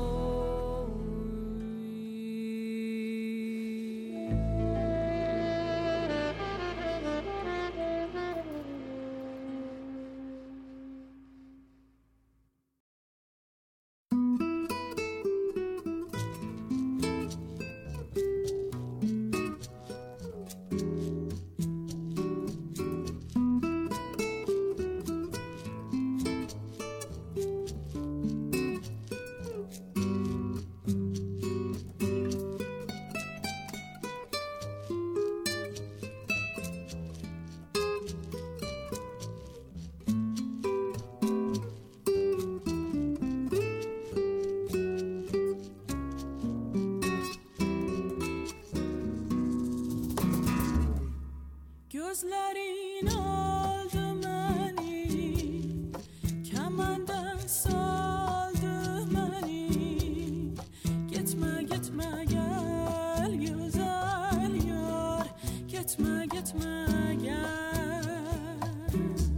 Gözlerin aldı beni, kemandan saldı beni. Gitme gitme gel güzel yar, gitme gitme gel.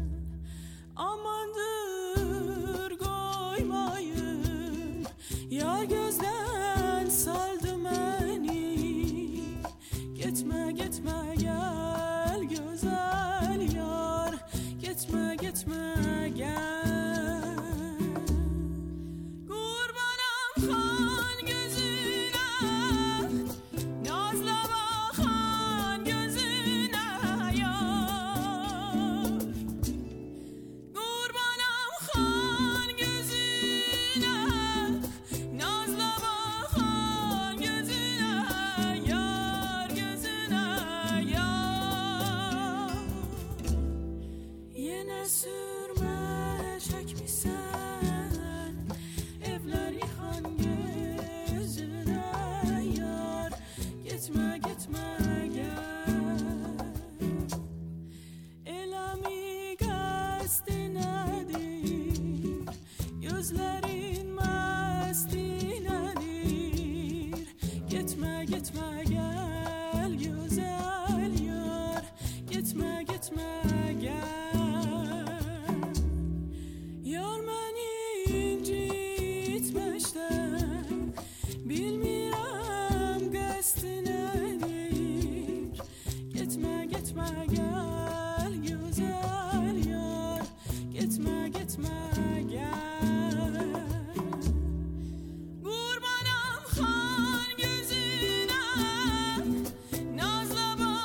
Amandır koymayın, yar gözden saldı beni. Gitme gitme gel güzel yar, gitme gitme gel. Kurbanım kan gözüne, nazla bakan gözüne yar. Kurbanım kan gözüne, nazla bakan gözüne yar, gözüne yar. Yine sürme çekmişsen evler yıkan gözüne yar. Gitme gitme gel. Elami qəsdi nədir, gözlərin məsti nədir. Gitme gitme gel güzel yar, gitme gitme gel. Yar məni incitmişdən, bilmirəm qəsdi nədir. Gitme gitme gel güzel yar, gitme gitme gel. Kurbanım kan gözüne, nazla bakan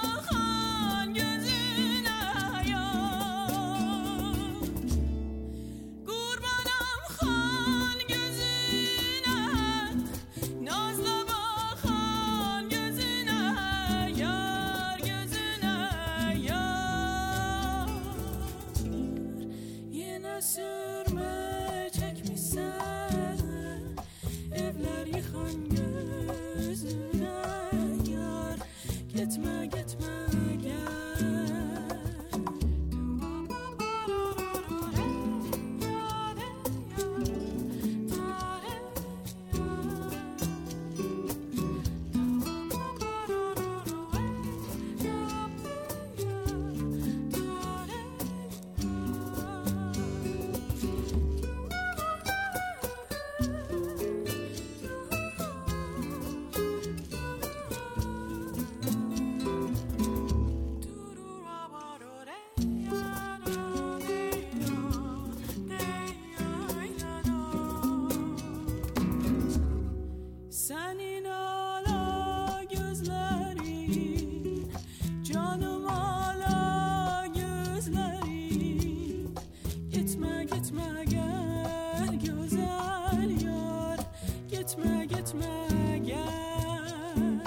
gözlerin, canım hala gözlerin. Gitme gitme gel güzel yar, gitme gitme gel.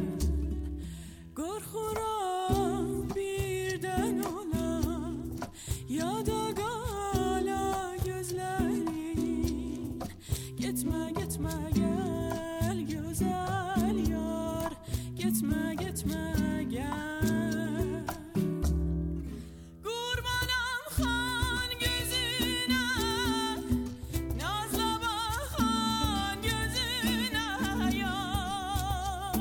Korkuram birden ola ya da gala gözlerin. Gitme gitme gel güzel yar, gitme gitme gel. Kurbanam xan gözüne, nazla bakan gözüne yar.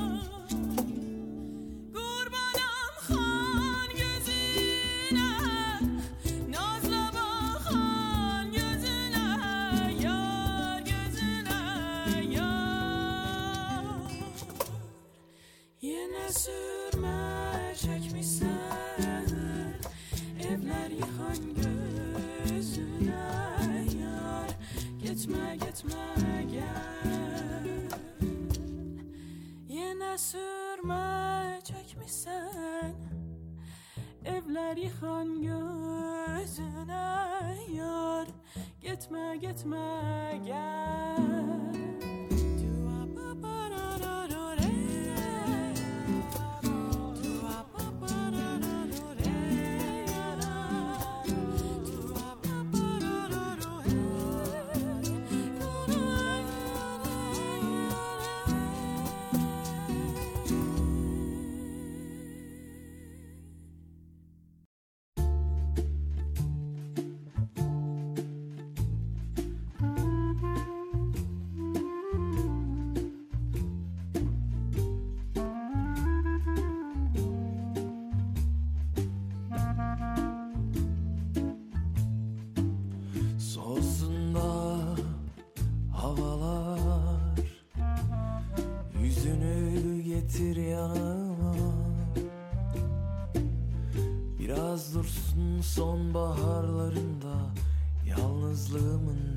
Kurbanam xan gözüne, nazla bakan gözüne yar, gözüne yar. Yine sürme çekmişsen evler yıkan gözüne yar. Gitme gitme gel. Yine sürme çekmişsen evler yıkan gözüne yar. Gitme gitme gel. Soğusun da havalar, yüzünü getir yanıma. Biraz dursun sonbaharlarında yalnızlığımın.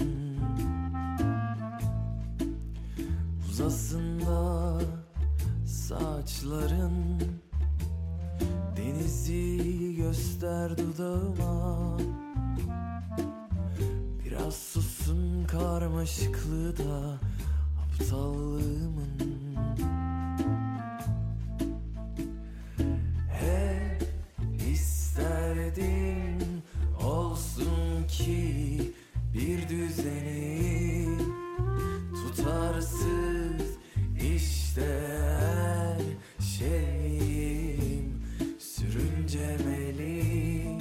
Uzasın da saçların, denizi göster dudağıma. Biraz susun karmaşıklığı da aptallığımın. Hep isterdim olsun ki bir düzeni, tutarsız işte her şeyim sürüncemeli.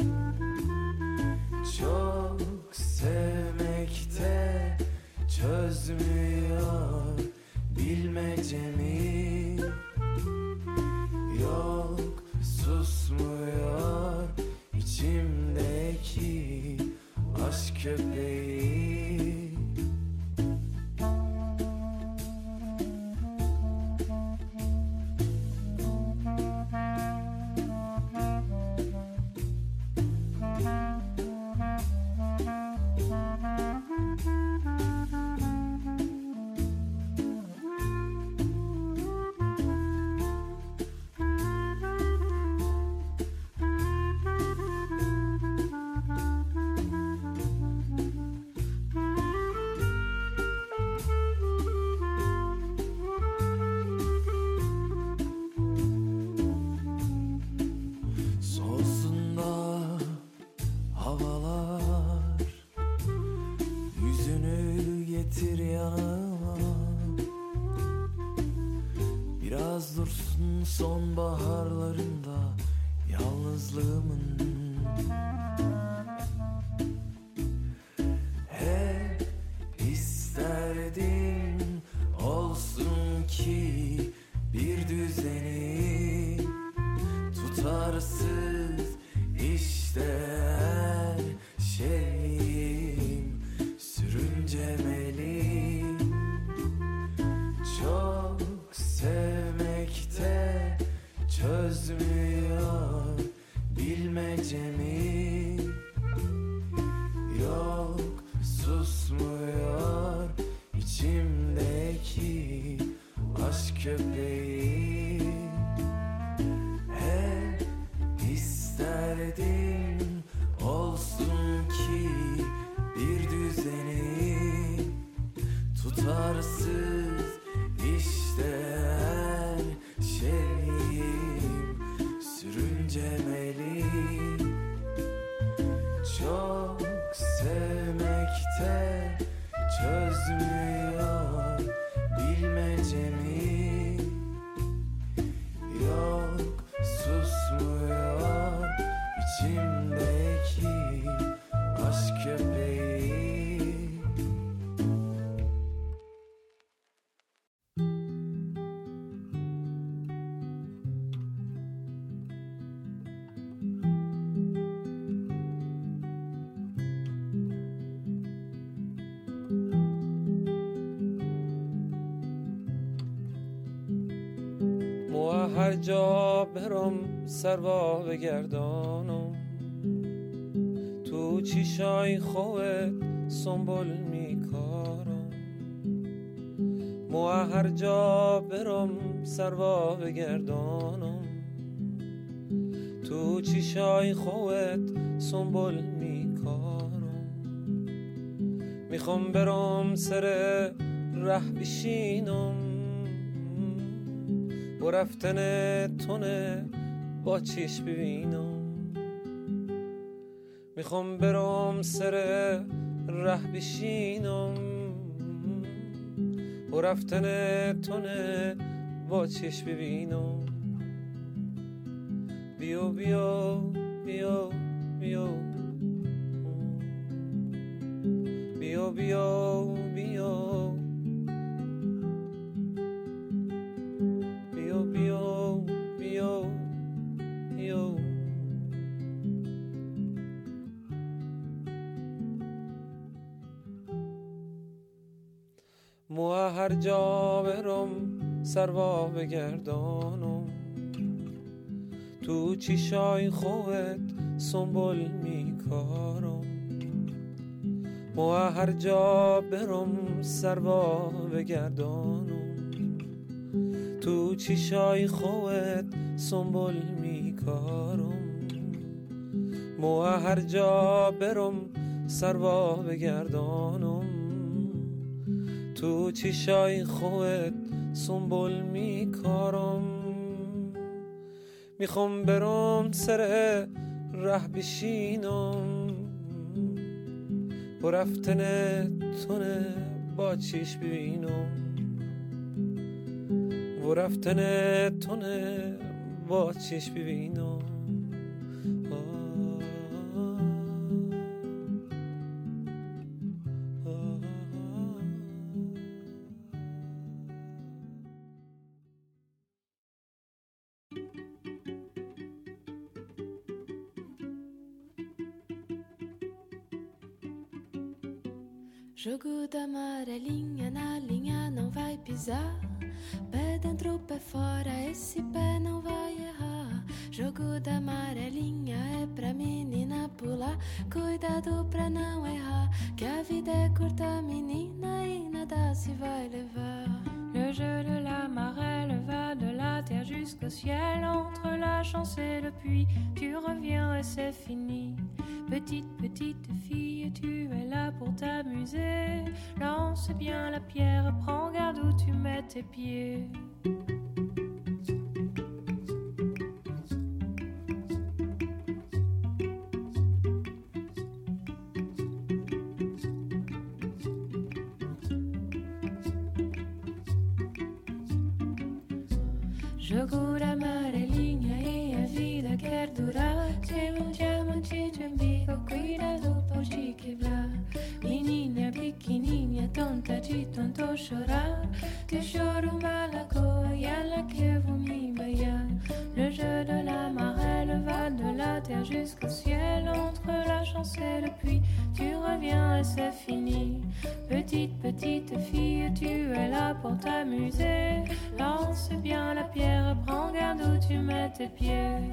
Çok sevmekte çözmüyor bilmecemi. Yok susmuyor içimdeki aşk köpeği. Soğusun da havalar, yüzünü getir yanıma. Biraz dursun sonbaharlarında yalnızlığımın. Hep isterdim olsun ki bir düzeni, tutarsız işte her şeyim sürüncemeli. Çok sevmekte çözmüyor bilmecemi. Yok susmuyor içimdeki aşk köpeği. هر جا برم سروا بگردانم تو چیشای خوت سنبول میکارم مو هر جا برم سروا بگردانم تو چیشای خوت سنبول میکارم میخوام برم سر ره بشینم و رفتن تونه با چیش ببینم میخوام برم سر ره بشینم و رفتن تونه با چیش ببینم بیو بیو بیو بیو بیو بیو بیو بیو بیو بیو بیو مو هر جا برم سروا بگردانم تو چیشای خوت سنبول میکارم مو هر جا برم سروا بگردانم تو چیشای خوت سنبول میکارم مو هر جا برم سروا بگردانم تو چیشای خوت سنبول میکارم میخوام برم سر ره بشینم و رفتن تونه با چیش ببینم و رفتن تونه با چیش ببینم Jogo da amarelinha na linha não vai pisar. Pé dentro, pé fora, esse pé não vai errar. Jogo da amarelinha é pra menina pular. Cuidado pra não errar, que a vida é curta, menina, e nada se vai levar. Le jeu de la marelle va de la terre jusqu'au ciel. Entre la chance et le puits, tu reviens et c'est fini. Petite, petite fille, tu es là pour t'amuser. Lance bien la pierre, prends garde où tu mets tes pieds. Jogo da amarelinha e a vida quer durar. Tem um diamante de umbigo, cuidado por te quebrar. Menina pequenininha, tonta de tanto chorar. Que choro malacoa e ela que vou me baiar. Le jeu de la marelle va de la terre jusqu'au ciel. Entre la chance et le puits, tu reviens et c'est fini. Petite, petite fille, tu es là pour t'amuser. Lance bien la pierre, prends garde où tu mets tes pieds.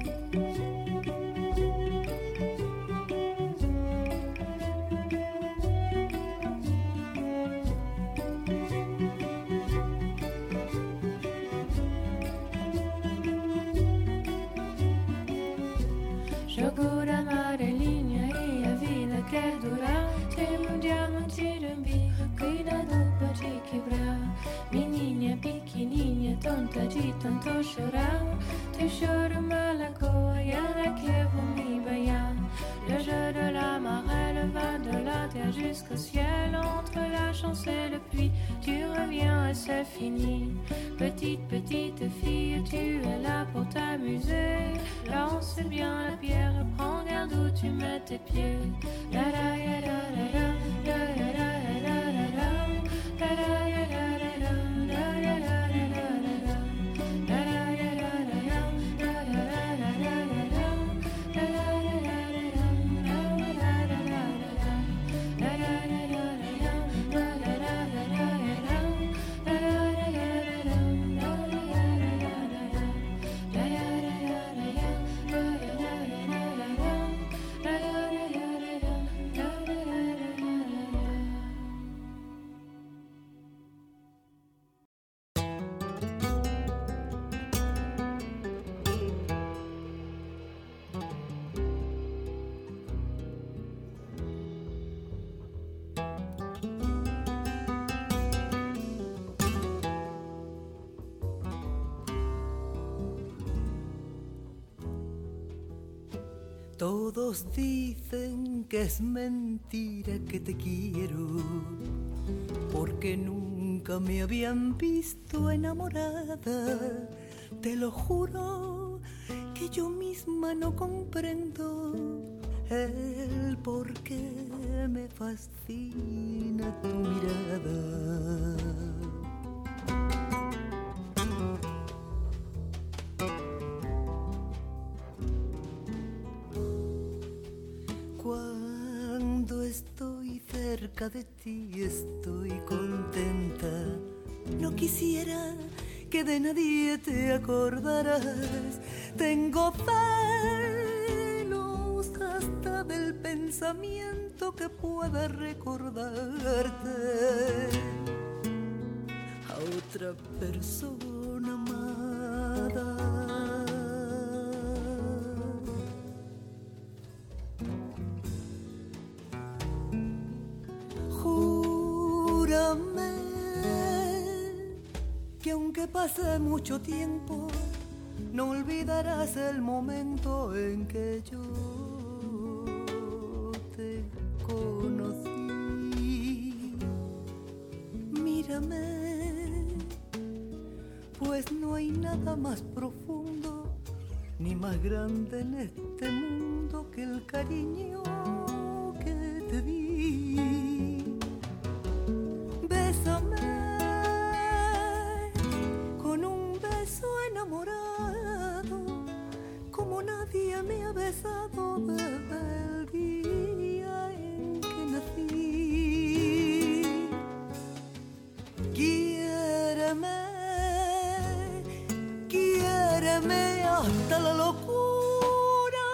Jogo da amarelinha e a vida quer durar. Tem um diamante de umbigo, cuidado pra te quebrar. Menina pequenininha, tonta de tanto chorar. Teu choro malacoa e ela que vou me baiar. Le jeu de la marelle va de la terre jusqu'au ciel. Entre la chance et le puits, tu reviens et c'est fini. Petite, petite fille, tu es là pour t'amuser. Lance bien la pierre, prends garde où tu mets tes pieds. La la ya la la la, la la la la la la, la la ya la la la, la la la la la la, la la ya la la la, la la la la la la, la la ya la la la, la la la la la, la la ya la la la, la la la la la, la la ya la la la, la la la la la la. Todos dicen que es mentira que te quiero, porque nunca me habían visto enamorada. Te lo juro que yo misma no comprendo el por qué me fascina tu mirada. Cuando estoy cerca de ti estoy contenta. No quisiera que de nadie te acordarás. Tengo celos hasta del pensamiento que pueda recordarte a otra persona amada. Júrame que aunque pase mucho tiempo, no olvidarás el momento en que yo te conocí. Mírame, pues no hay nada más profundo ni más grande en este mundo que el cariño que te di. Bésame con un beso enamorado, como nadie me ha besado desde el día en que nací. Quiéreme, quiéreme hasta la locura,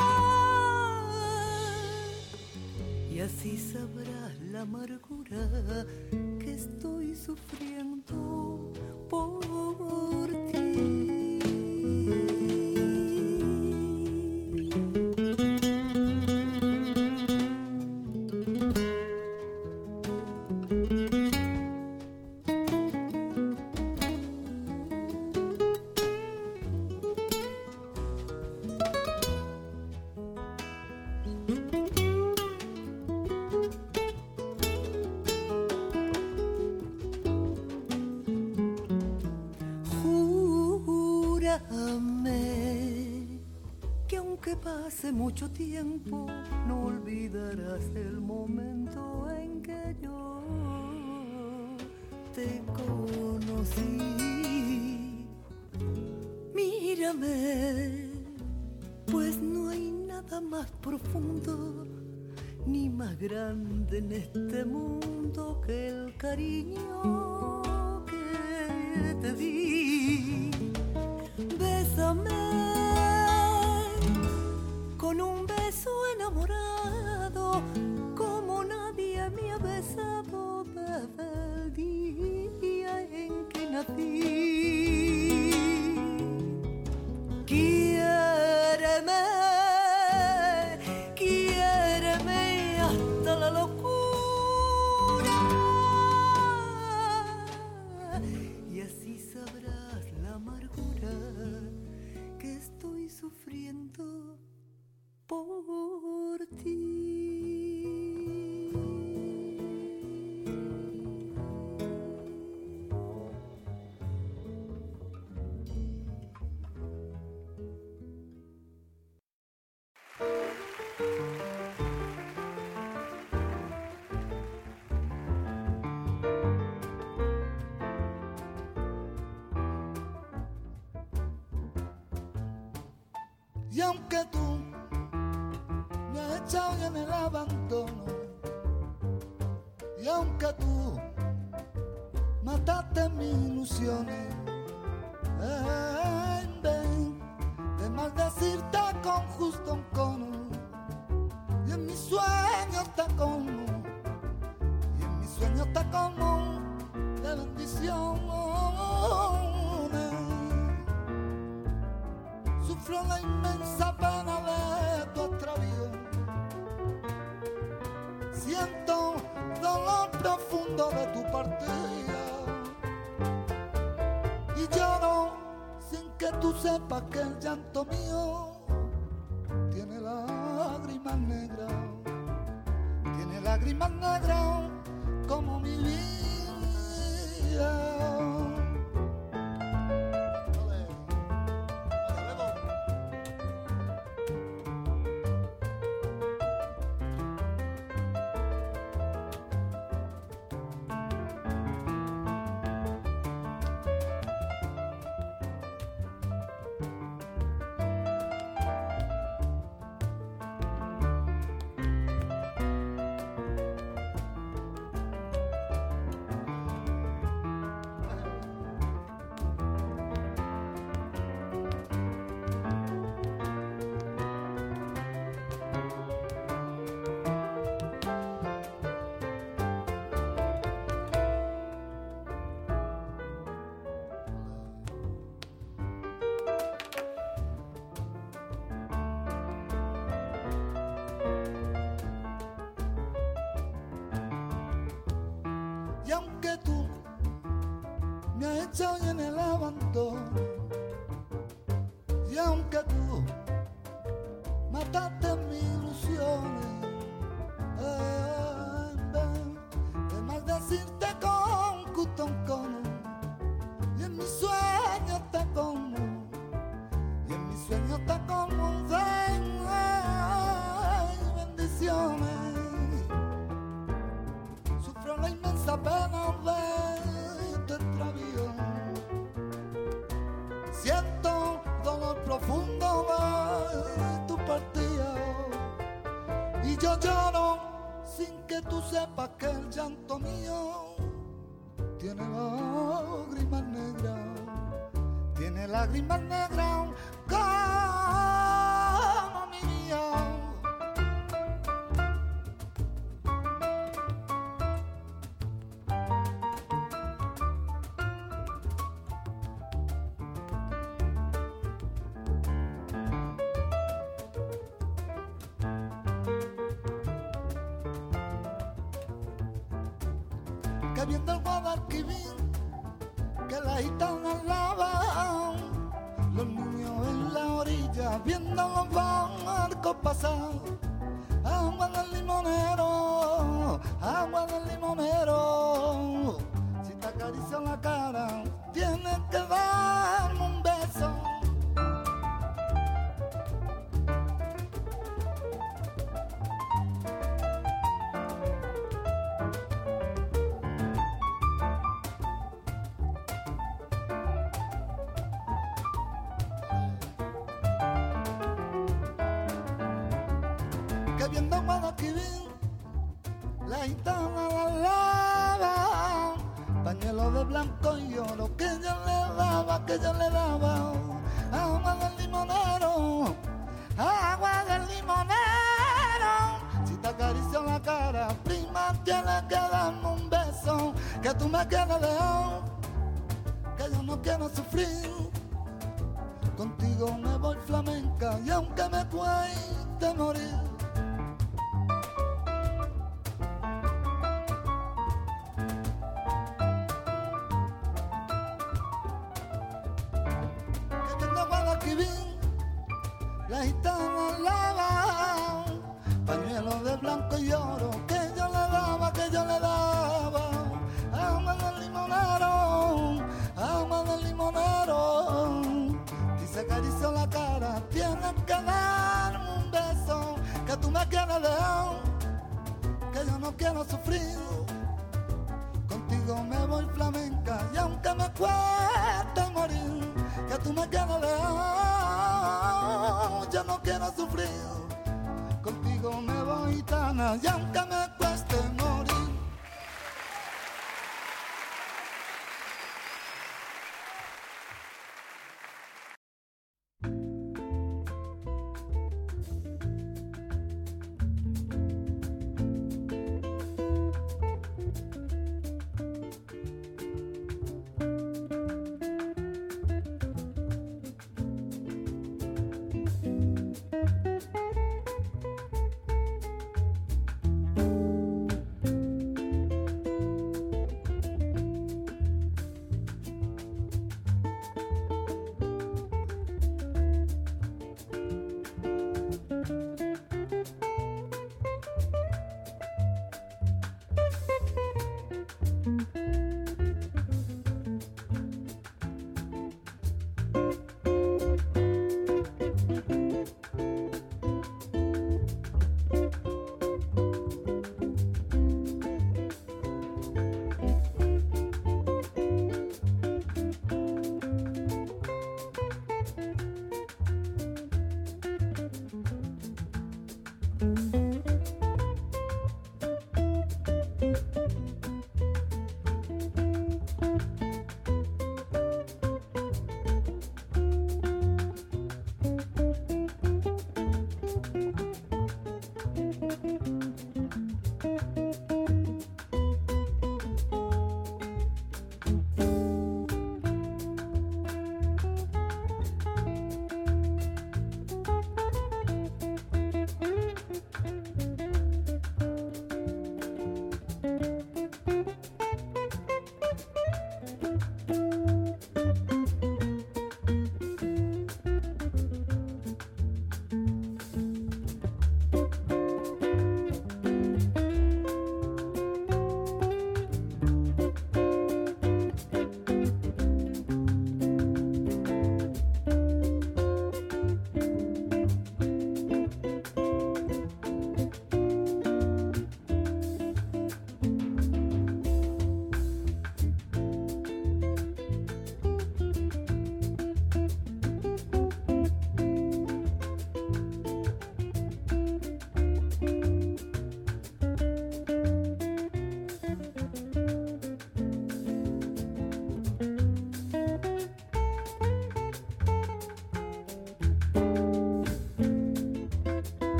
y así sabrás la amargura que estoy sufriendo por ti. Hace mucho tiempo no olvidarás el momento en que yo te conocí. Mírame, pues no hay nada más profundo ni más grande en este mundo que el cariño que te di. Bésame con un beso enamorado, como nadie me ha besado desde el día en que nací. Quiéreme, quiéreme hasta la locura, y así sabrás la amargura que estoy sufriendo por ti. Y aunque tú me has echado ya en el abandono, y aunque tú mataste mis ilusiones, en vez de maldecirte con justo un cono, y en mis sueños te como, y en mis sueños te como de bendiciones. Sufro la inmensa pena de tu extravío, siento dolor profundo de tu partida, y lloro sin que tú sepas que el llanto mío tiene la lágrimas negras, tiene lágrimas negras como mi vida. Y aunque tú me has echado en el abandono, y aunque tú mataste mis ilusiones, eh, ven, de maldecirte con cutoncono, y en mis sueños te como, y en mis sueños te como, ven, ay, bendiciones. Sufro la inmensa pena de tu extravío, siento dolor profundo de tu partida, y yo lloro sin que tú sepas que el llanto mío tiene lágrimas negras, tiene lágrimas negras como mi vida. Que viendo el Guadalquivir, que la gitana lava, los niños en la orilla viendo los barcos pasar. Agua del limonero, agua del limonero, si te acaricio la cara, tienes que darme un beso. Que viendo Guadalquivir, la gitana la lava, pañuelo de blanco y oro que yo le daba, que yo le daba. Agua del limonero, agua del limonero, si te acaricio la cara, prima, tienes que darme un beso, que tú me quieres dejar, que yo no quiero sufrir. Contigo me voy flamenca y aunque me cueste morir. La gitana lava, pañuelo de blanco y oro que yo le daba, que yo le daba. Agua del limonero, agua del limonero, y se acarició la cara, tienes que darme un beso, que tú me quieres dejar, que yo no quiero sufrir. Contigo me voy flamenca y aunque me cueste morir, que tú me quieres dejar, yo no quiero sufrir. Contigo me voy gitana y aunque me cueste morir.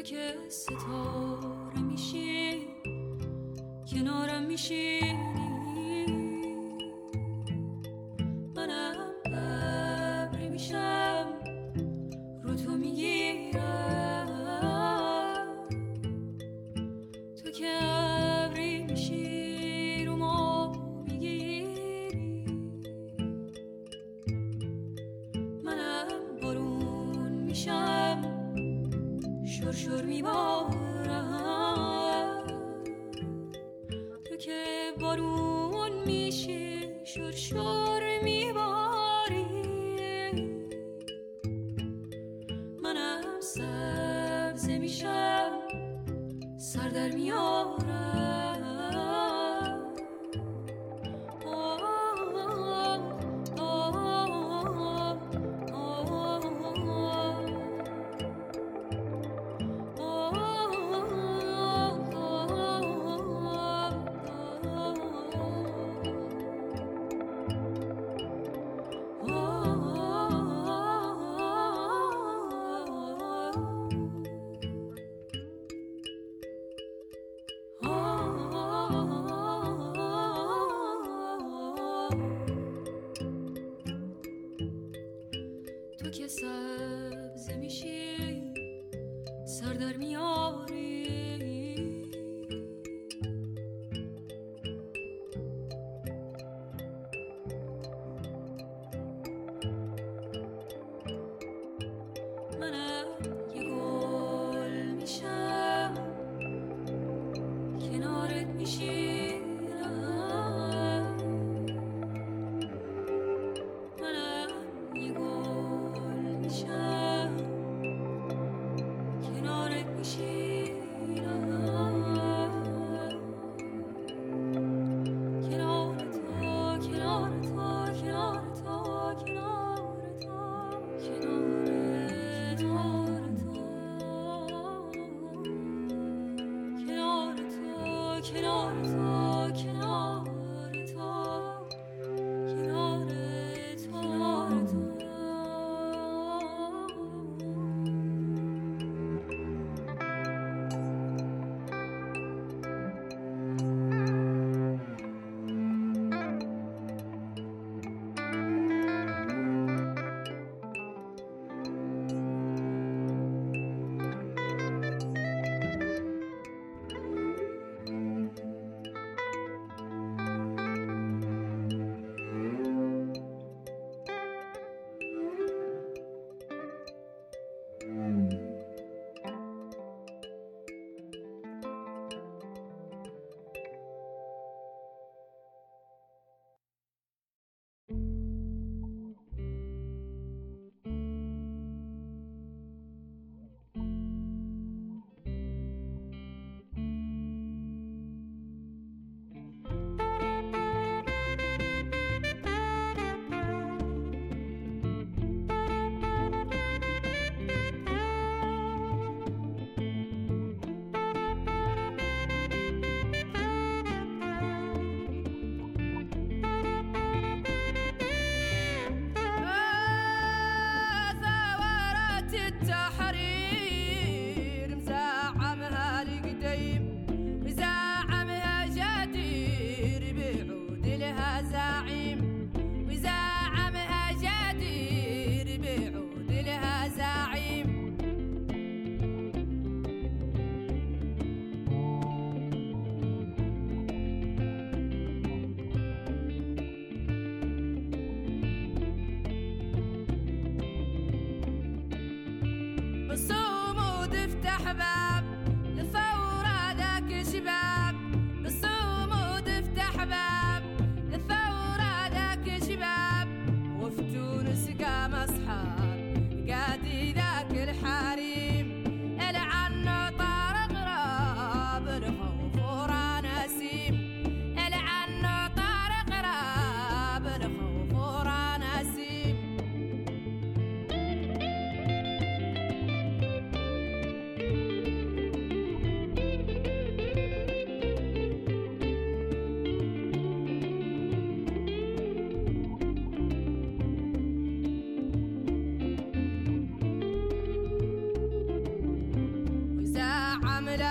که ستاره میشی کنارم میشینی منم ابری میشم رو تو میگیرم تو که ابری میشی رو ما میگیری منم بارون میشم شور شور میبارم تو که بارون میشی شور شور میباری منم سبزه میشم سر در میارم تو که سبزه میشی سر در میاری منم یه گل میشم کنارت میشینم منم یه گل میشم کنارت میشینم کنار تو کنار تو کنار تو کنار تو کنار تو کنار تو کنار تو کنار تو کنار تو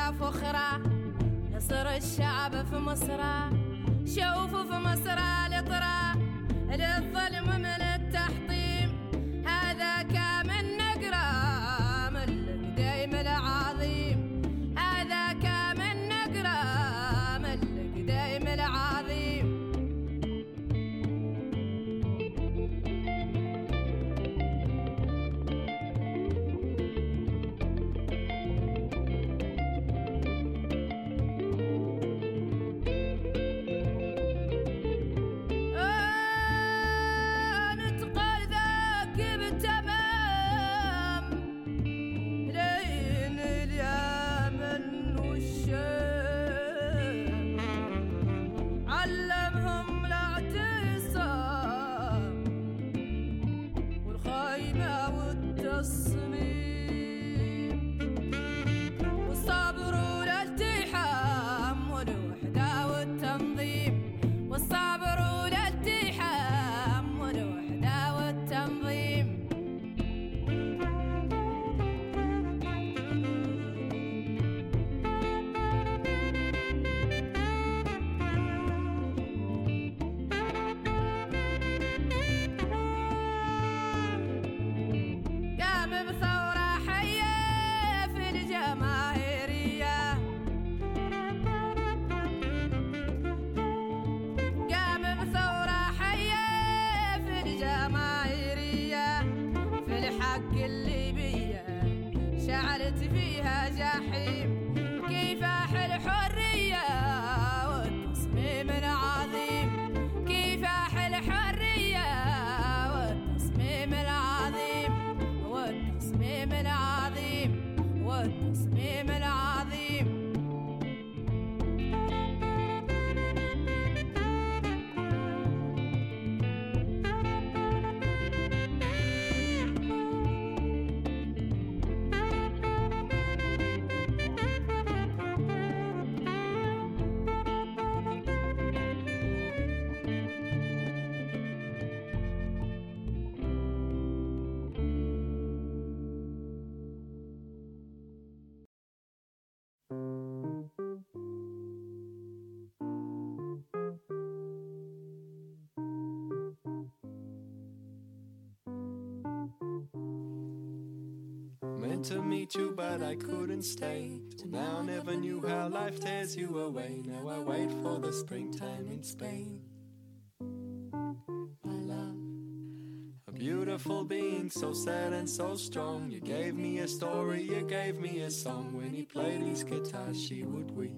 ولا فخرة نصر الشعب في مصر شوفوا في مصر لطرة للظلم من التحطيم هذا كامل نقرة من القديم العظيم هذا كامل نقرة من القديم العظيم To meet you, but I couldn't stay. Till now, never knew how life tears you away. Now I wait for the springtime in Spain. My love, a beautiful being, so sad and so strong. You gave me a story, you gave me a song. When he played his guitar, she would weep.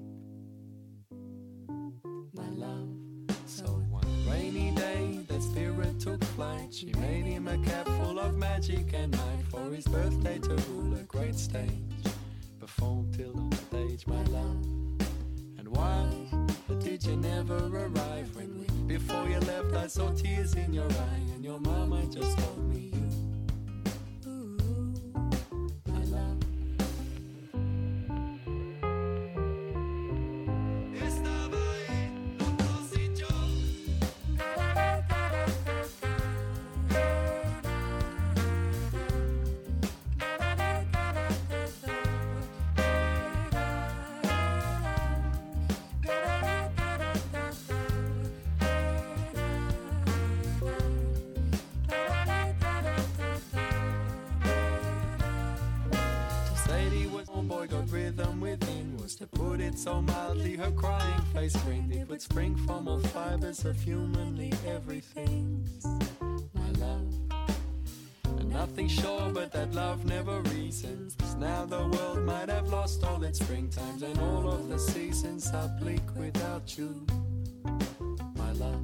My love, so one rainy day, that spirit took flight. She made him a cap full of magic and might for his birthday to rule a great stage. Perform till on stage, my love. And why did you never arrive when we, before you left, I saw tears in your eye, and your mama just told me you. Ooh, my love. To put it so mildly, her crying face screamed it would spring from all fibers of humanly everything. My love, and nothing sure but that love never reasons. 'Cause now the world might have lost all its springtimes, and all of the seasons are bleak without you, my love.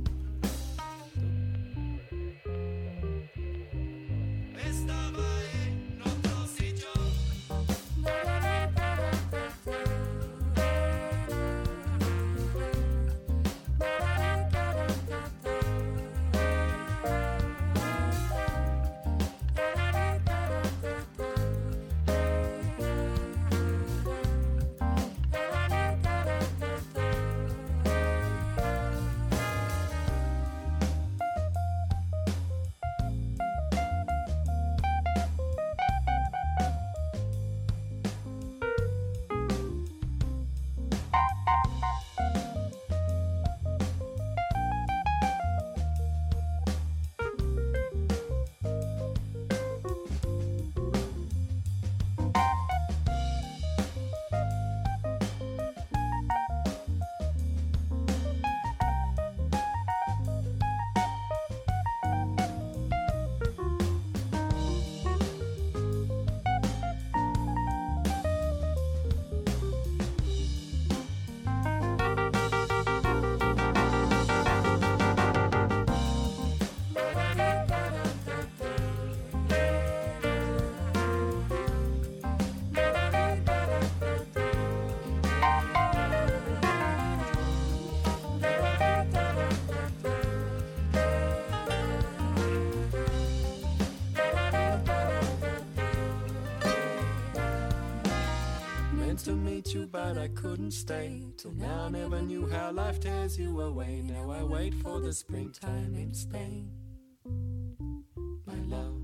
meant to meet you, but I couldn't stay. Till now I never knew how life tears you away. Now I wait for the springtime in Spain. My love.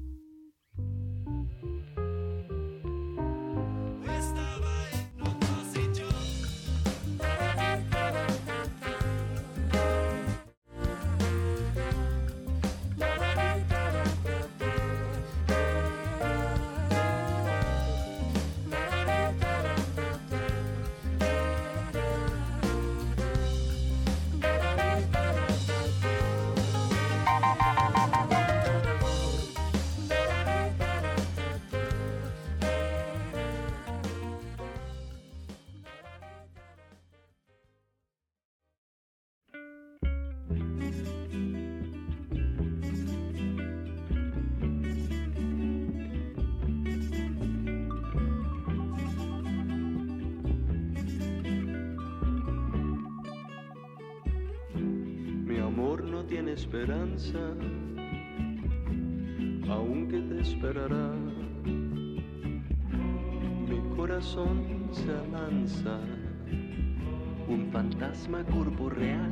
Tiene esperanza, aunque te esperará. Mi corazón se alanza, un fantasma corporeal.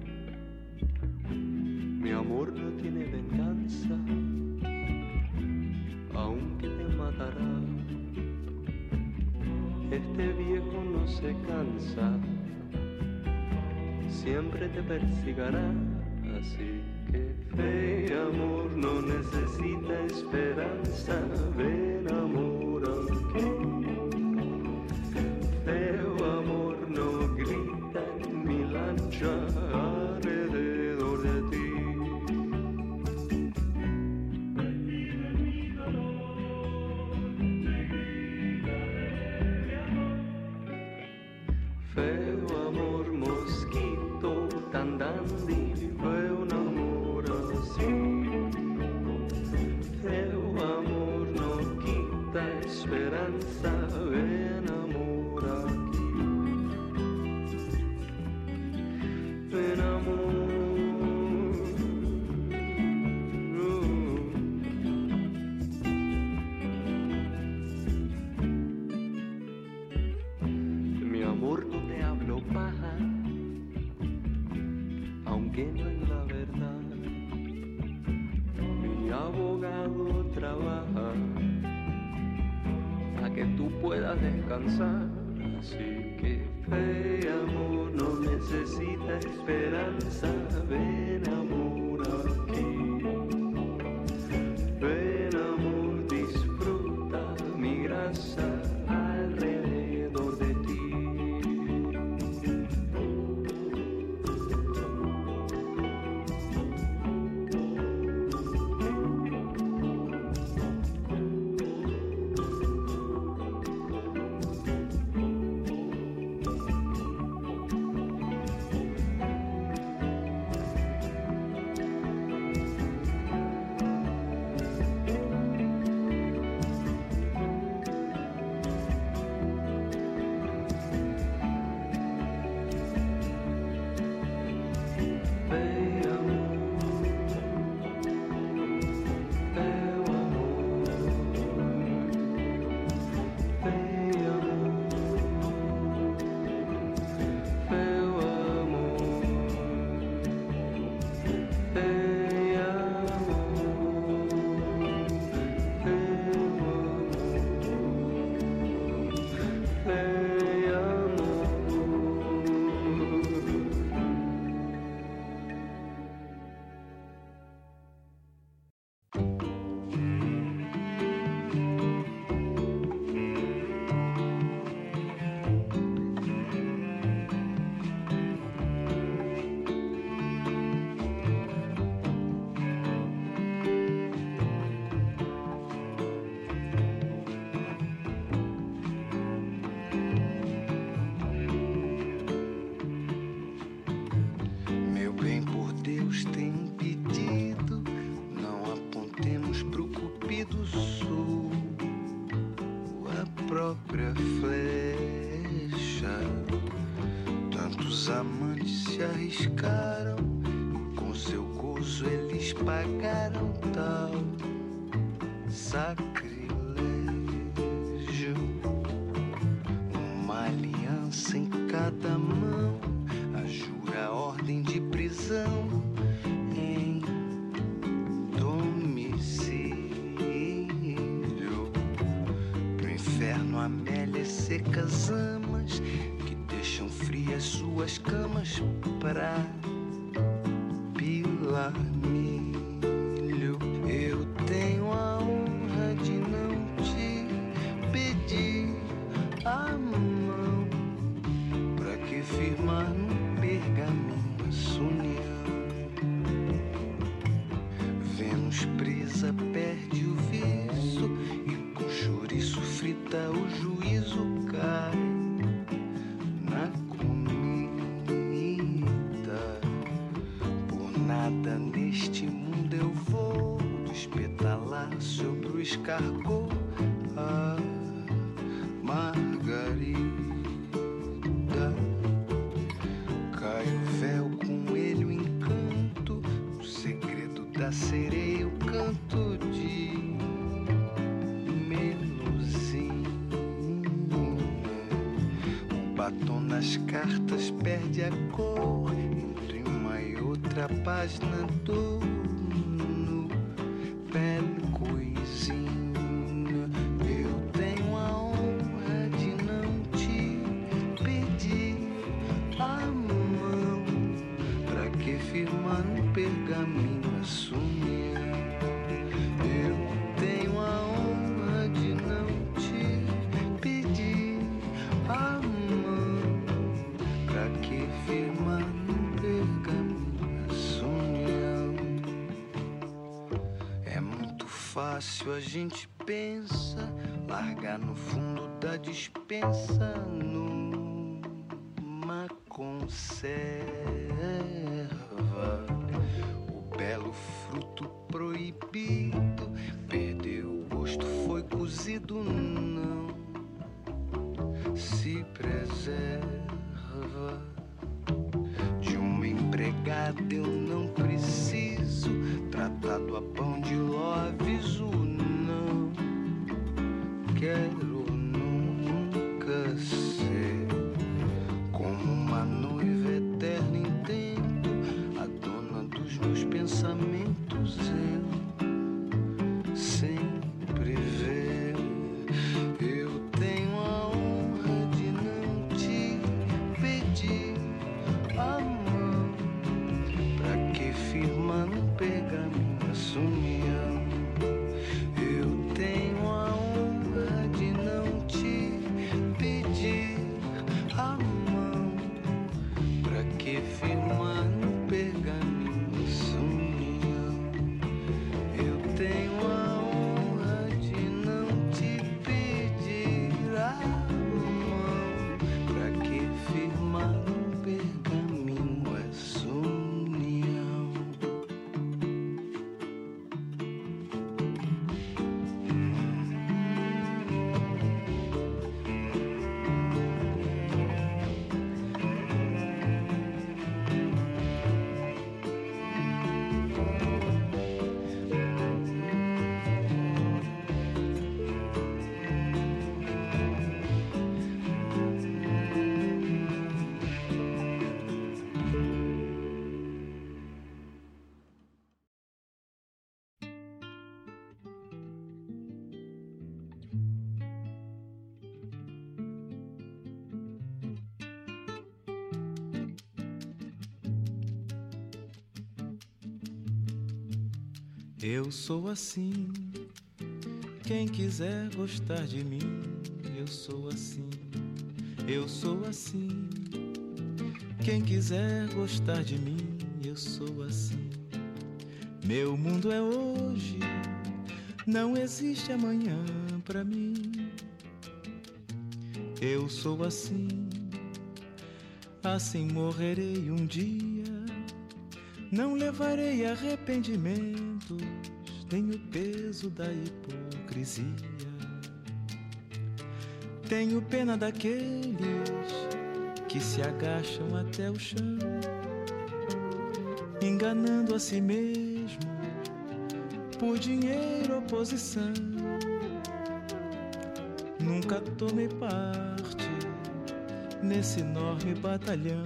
Mi amor no tiene venganza, aunque te matará. Este viejo no se cansa, siempre te persigará. Así que fe y amor no necesita esperanza. Ven amor aquí. Feo amor no grita en mi lancha alrededor de ti. Feo amor mosquito tan dandy. Fue un amor así. Feo amor no quita esperanza. Ven amor aquí. Ven amor. Uh. Mi amor no te hablo paja, aunque no es la verdad. Mi abogado trabaja para que tú puedas descansar. Así que fe y amor no necesita esperanza. Ven amor aquí. Ven amor, disfruta mi grasa alrededor de ti. própria flecha. Tantos amantes se arriscaram, com seu gozo eles pagaram tal sacrilégio. cada mão, a jura ordem de prisão em domicílio. Pro inferno, Amélia, secas amas que deixam frias suas camas pra pilar milho. Eu tenho a honra de não te pedir a mão, pra que firmar num pergaminho essa união. Vênus presa perde o viso e com chouriço frita o juízo cai na comida. Por nada neste mundo eu vou despetalar sobre o escargot a margarida. Cai o véu com ele o encanto, o segredo da sereia, o canto de meluzinha. O batom nas cartas perde a cor entre uma e outra página do no belo coisinha. Eu tenho a honra de não te pedir a mão, pra que firmar no pergaminho essa união. Eu tenho a honra de não te pedir a mão, pra que firmar no pergaminho essa união. É muito fácil, a gente pensa, largar no fundo da despensa numa conserva o belo fruto proibido. Perdeu o gosto, foi cozido, não se preserva. De uma empregada eu não preciso, tratado a pão de ló, aviso, não quero nunca ser como uma noiva eterna em tempo, a dona dos meus pensamentos. Eu sempre ver, eu tenho a honra de não te pedir a mão, pra que firmar no pergaminho essa união. Eu tenho a honra de não te pedir a mão, pra que firmar no pergaminho essa união. Eu tenho a honra de não te pedir a mão, pra que firmar no pergaminho essa união. Eu sou assim, quem quiser gostar de mim, eu sou assim, eu sou assim, quem quiser gostar de mim, eu sou assim. Meu mundo é hoje, não existe amanhã pra mim. Eu sou assim, assim morrerei um dia, não levarei arrependimentos, nem o peso da hipocrisia. Tenho pena daqueles que se agacham até o chão, enganando a si mesmo por dinheiro ou posição. Nunca tomei parte nesse enorme batalhão.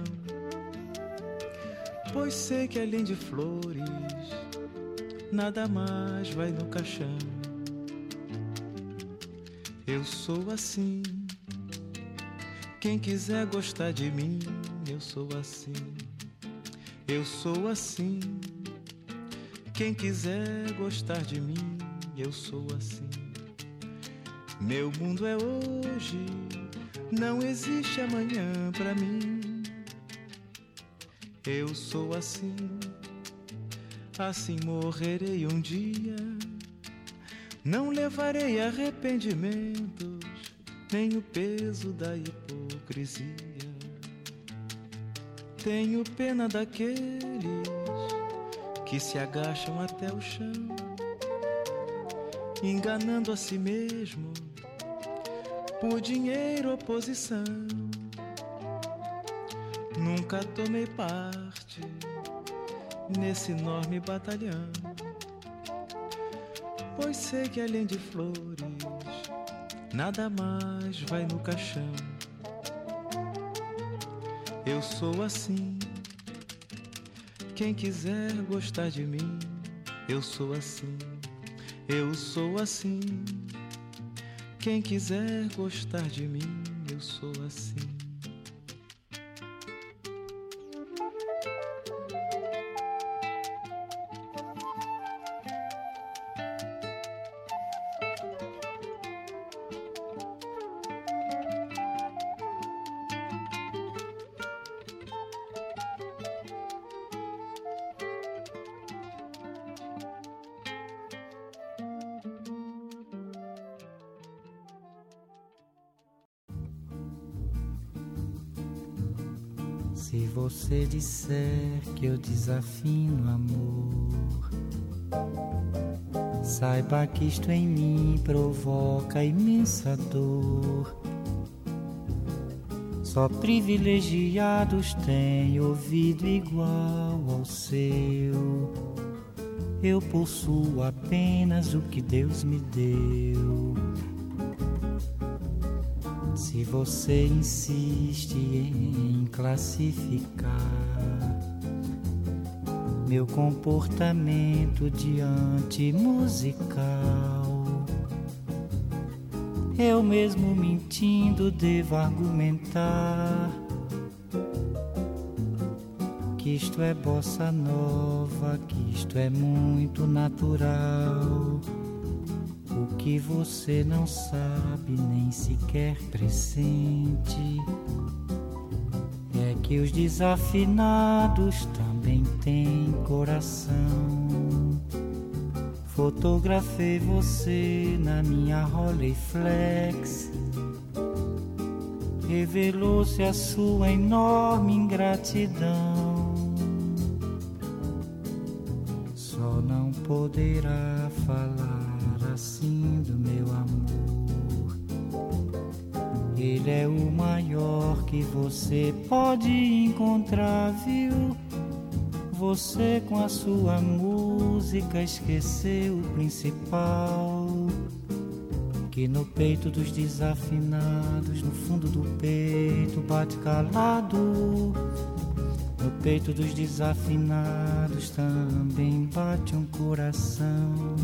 Pois sei que além de flores, nada mais vai no caixão. Eu sou assim, quem quiser gostar de mim, eu sou assim. Eu sou assim, quem quiser gostar de mim, eu sou assim. Meu mundo é hoje, não existe amanhã pra mim. Eu sou assim, assim morrerei um dia. Não levarei arrependimentos, nem o peso da hipocrisia. Tenho pena daqueles que se agacham até o chão, enganando a si mesmo por dinheiro ou posição. Nunca tomei parte nesse enorme batalhão, pois sei que além de flores, nada mais vai no caixão. Eu sou assim, quem quiser gostar de mim, eu sou assim. Eu sou assim, quem quiser gostar de mim, eu sou assim. Se você disser que eu desafino amor, saiba que isto em mim provoca imensa dor. Só privilegiados têm ouvido igual ao seu. Eu possuo apenas o que Deus me deu. Se você insiste em classificar meu comportamento diante musical, eu mesmo mentindo devo argumentar que isto é bossa nova, que isto é muito natural. O que você não sabe, nem sequer pressente, é que os desafinados também têm coração. Fotografei você na minha Rolleiflex, revelou-se a sua enorme ingratidão. Só não poderá falar assim do meu amor. Ele é o maior que você pode encontrar, viu? Você com a sua música esqueceu o principal, que no peito dos desafinados, no fundo do peito bate calado. No peito dos desafinados também bate um coração.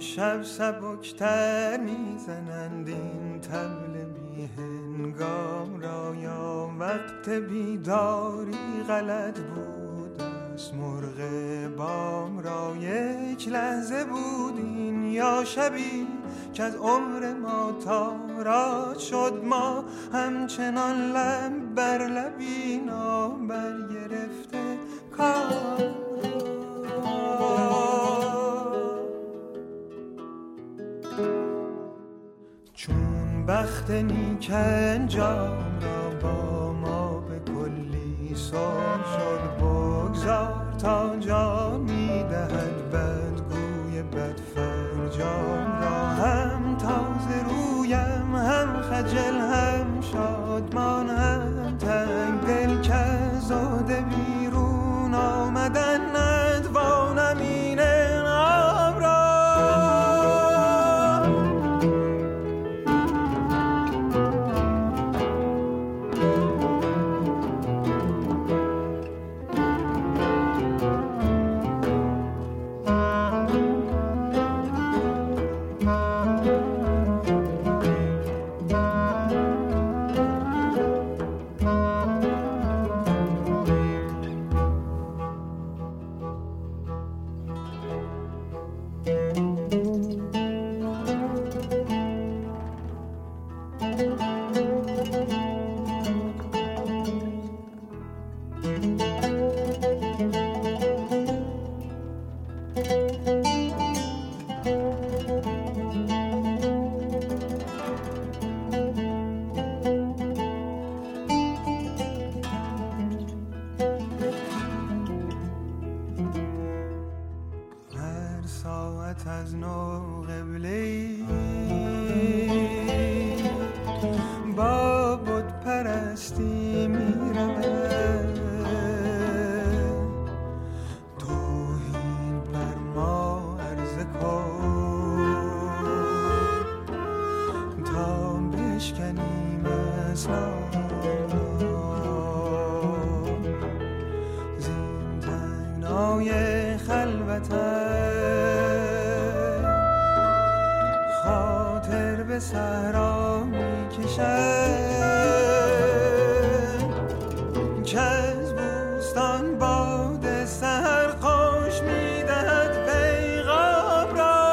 امشب سبکتر میزنند این طبل بی هنگام را، یا وقت بیداری غلط بود است مرغ بام را. یک لحظه بود این یا شبی که از عمر ما تاراج شد، ما همچنان لب بر لبی نابر گرفته کار. چون بخت نیک انجام را با ما به کلی سر شد، بگذار تا جان میدهد بدگوی بدفرجام را. هم تازه رویم هم خجل هم شادمان هم تنگ دل که زاده بیرون آمدن ندوانم این انعام را. از نو قبله‌ای با بت پرستی می‌رود، توحید بر ما عرضه کن تا بشکنیم اسلام زین تنگنای خلوتم. خاطر به صحرا میکشد که از بوستان باد سحر خوش میدهد پیغام را.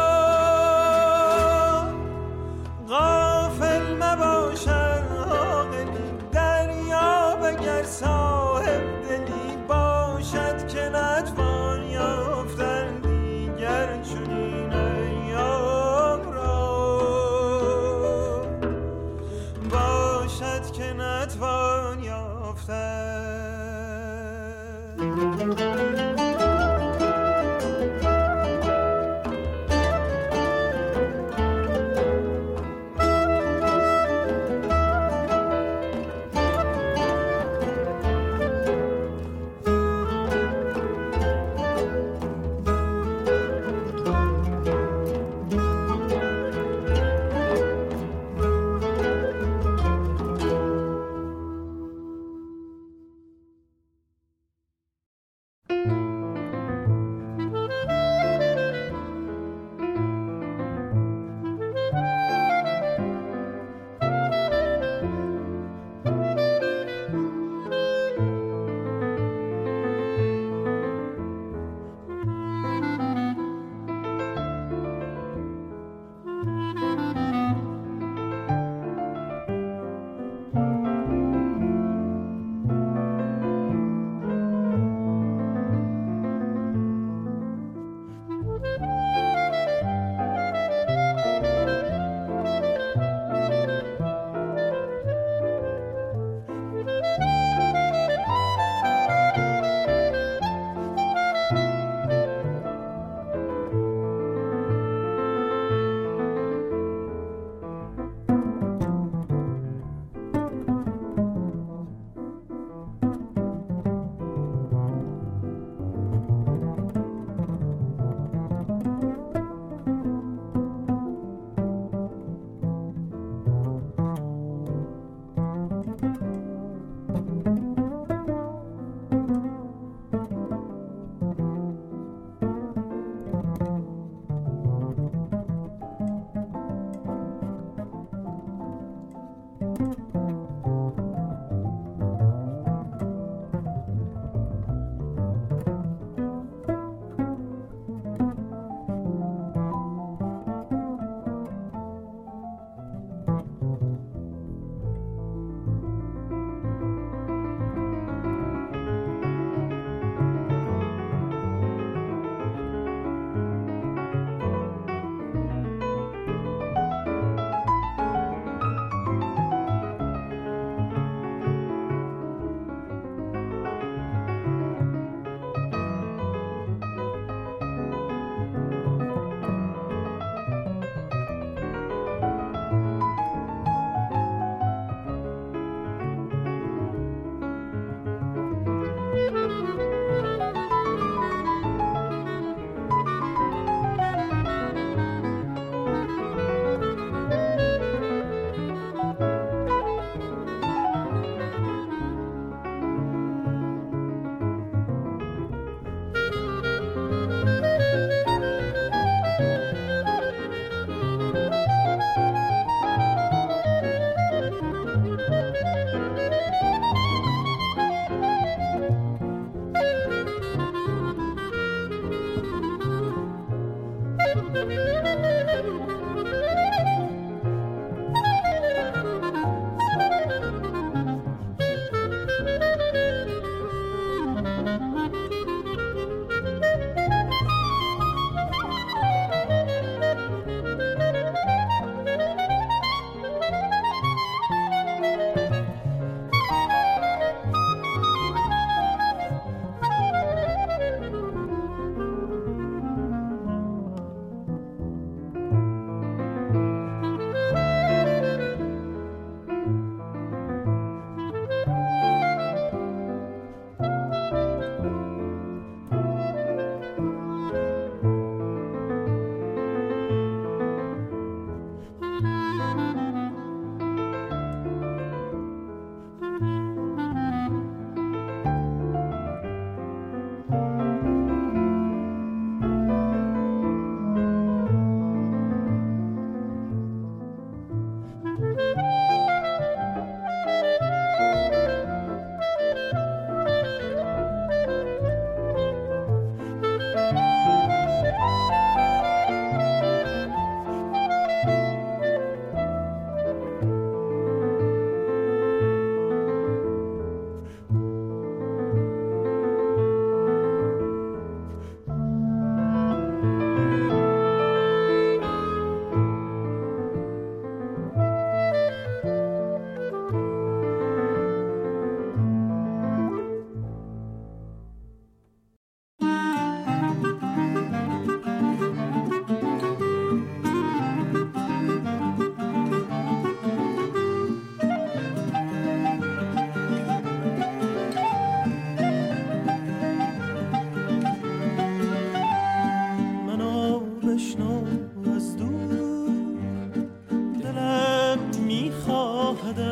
غافل مباشد عاقلی دریاب، اگر صاحب دلی باشد که نتوان یافتن دیگر چنین ایام را. باشد که نتوان یافتن. thank you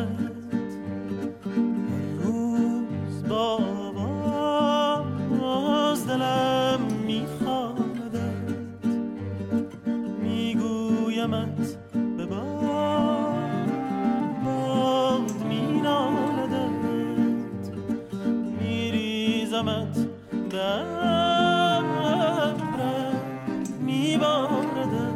روز با باز دلم میخوادت، میگویمت به باد، باد مینالدت، میریزمت به ابرم میباردت.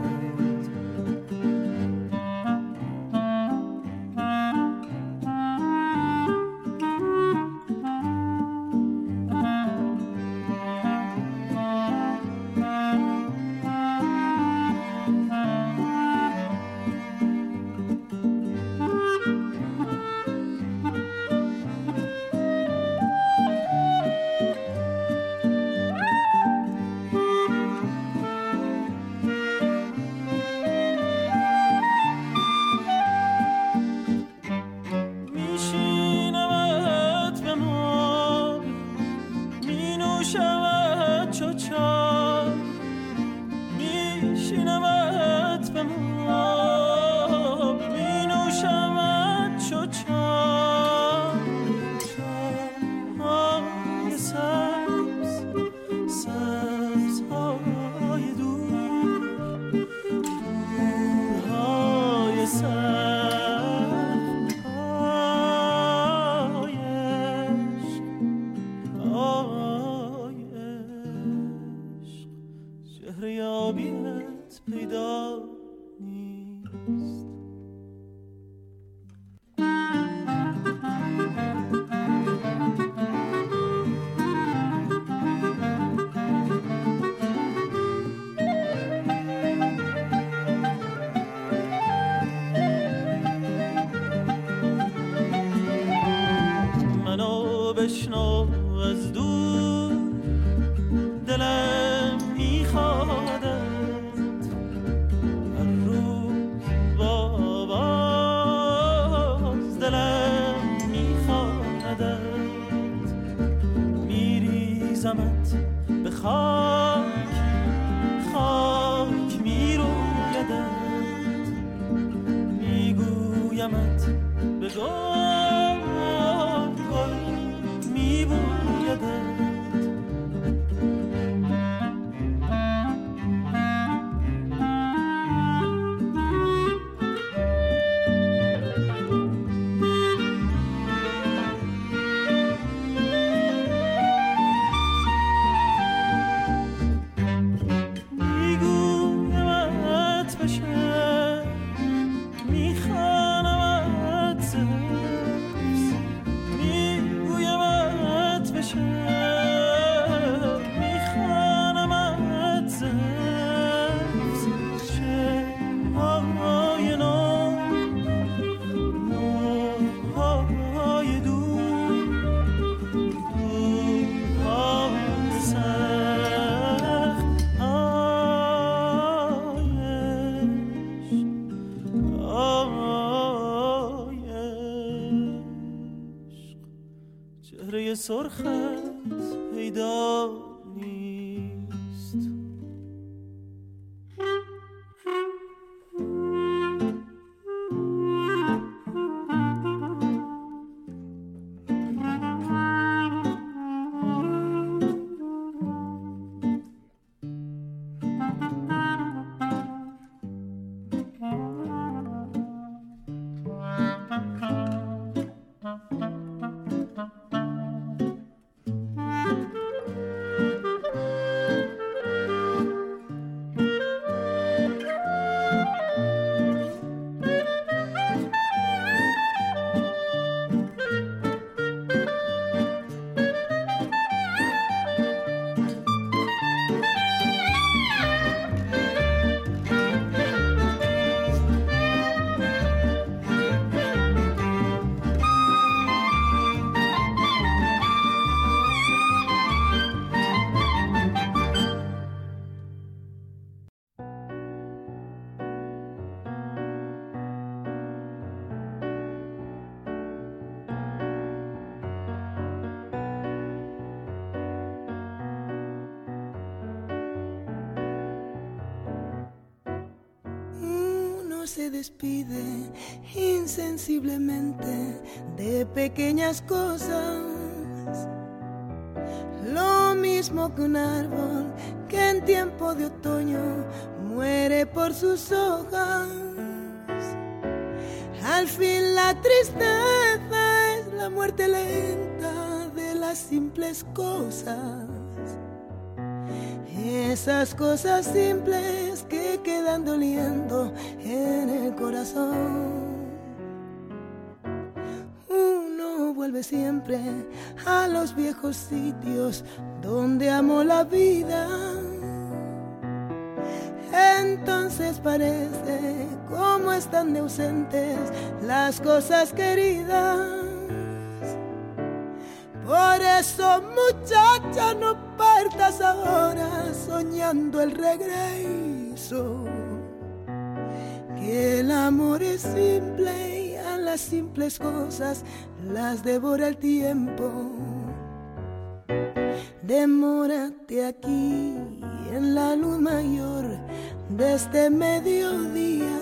بشنو از دور دلم میخوادت، هر روز با باز دلم میخوادت، میریزمت به خاک، خاک میرویدت، میگویمت به گل، گل میبویدت. چهره سرخت پیدا نیست. se despide insensiblemente de pequeñas cosas. Lo mismo que un árbol que en tiempo de otoño muere por sus hojas. Al fin la tristeza es la muerte lenta de las simples cosas. Esas cosas simples que quedan doliendo en el corazón. Uno vuelve siempre a los viejos sitios donde amó la vida. Entonces parece como están de ausentes las cosas queridas. Por eso, muchacha, no partas ahora soñando el regreso, que el amor es simple y a las simples cosas las devora el tiempo. Demórate aquí en la luz mayor de este mediodía,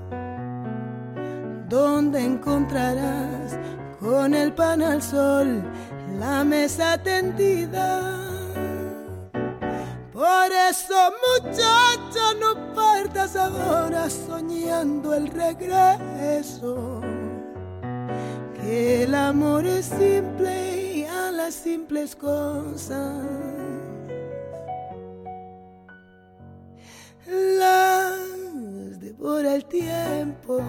donde encontrarás con el pan al sol la mesa tendida. Por eso, muchacha, no partas ahora soñando el regreso, que el amor es simple y a las simples cosas las devora el tiempo.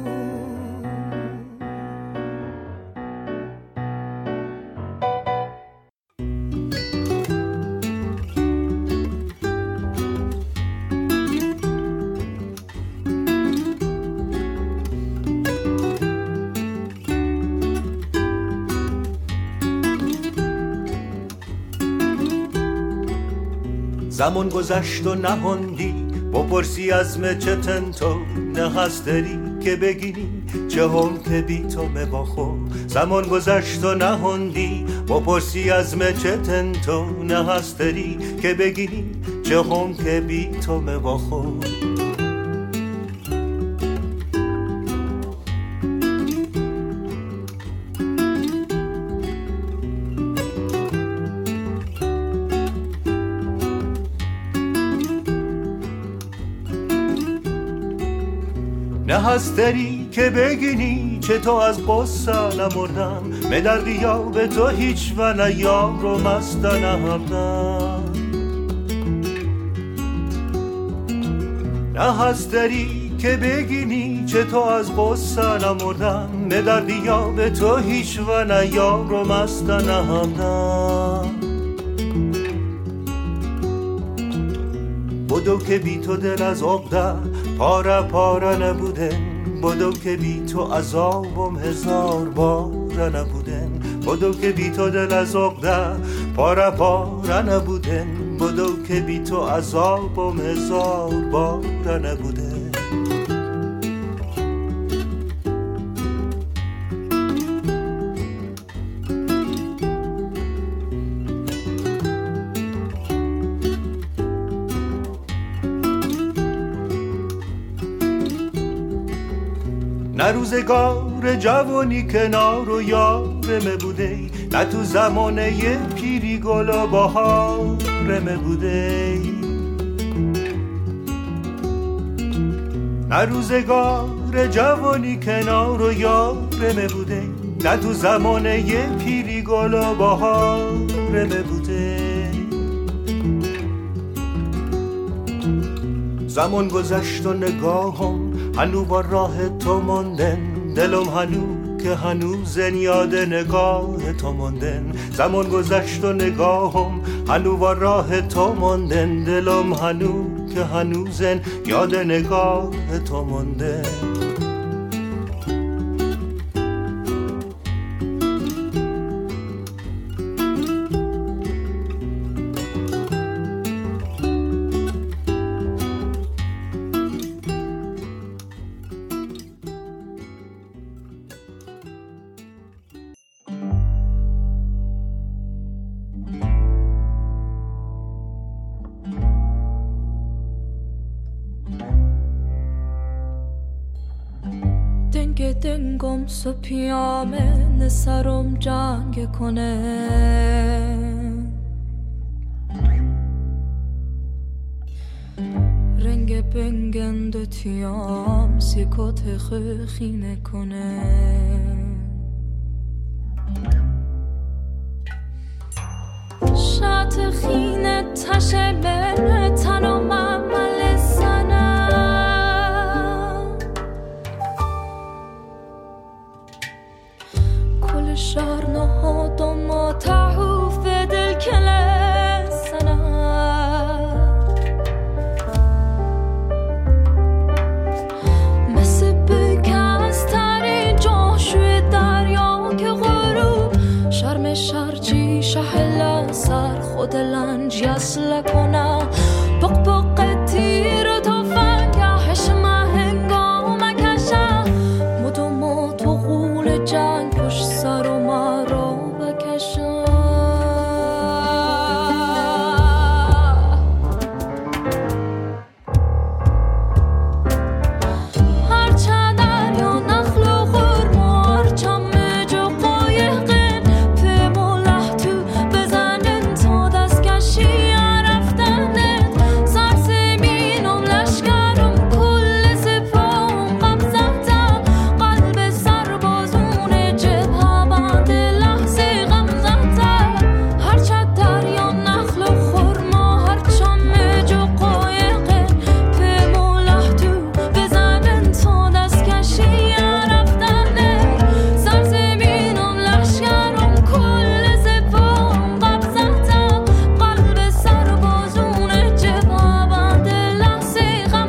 زمان گذشت و نهاندی بپرسی از مچه تنتو نه هست داری که بگیری چه هم که بی تو مباخو. زمان گذشت و نهاندی بپرسی از مچه تنتو نه هست داری که بگیری چه هم که بی تو مباخو. نه هست داری که بگینی چه تو از قصه نمردم مدردی یا به تو هیچ و نه یار رو مسته نهردم. نه هست داری که بگینی چه تو از قصه نمردم مدردی یا به تو هیچ و نه یار رو مسته نهردم. بدو که بی تو دل از عقده پاره پاره نبودن، بدو که بی تو عذابم هزار باره نبودن. بدو که بی تو دل از عقده پاره پاره نبودن، بدو که بی تو عذابم هزار باره نبودن. نه روزگار جوانی کنار و یارمه بوده، نه تو زمانه پیری گل و بهارمه بوده. نه روزگار جوانی کنار و یارمه بوده، نه تو زمانه پیری گل و بهارمه بوده. زمان گذشت و نگاهم هنو با راه تو ماندن، دلم هنو که هنوزن یاد نگاه تو ماندن. زمان گذشت و نگاهم هنو با راه تو ماندن، دلم هنو که هنوزن یاد نگاه تو ماندن. سو پیامه نسرم جنگ کنه رنگ بنگند تیام سیکوت خخینه کنه شات خینه تشه من تنم عمل سنه كل شهر نهض ما تعوف دل كل سنة مسبك از تری جاشوی دریا که غروب شرم شرجی شهل سر خود لنج یسل کنه بق بق تیر تو فنگهش هنگام کشه مدو ما تو غول جنگ پشت سر و ما رو بکشه هرچه دریا نخل و خورما هرچه مج و قایقین پیم و لحتو بزنن تا دست کشی رفتنن سر زمینم لشکرم کل سپاهم قبضتم قلب سربازون جبهه بند لحظه غم زدم هرچه دریا نخل و خورما هرچه مج و قایقین پیم و لحتو بزنن تا دست کشی رفتنن سر زمینم لشکرم کل سپاهم قبضتم قلب سربازون جبهه بند لحظه غم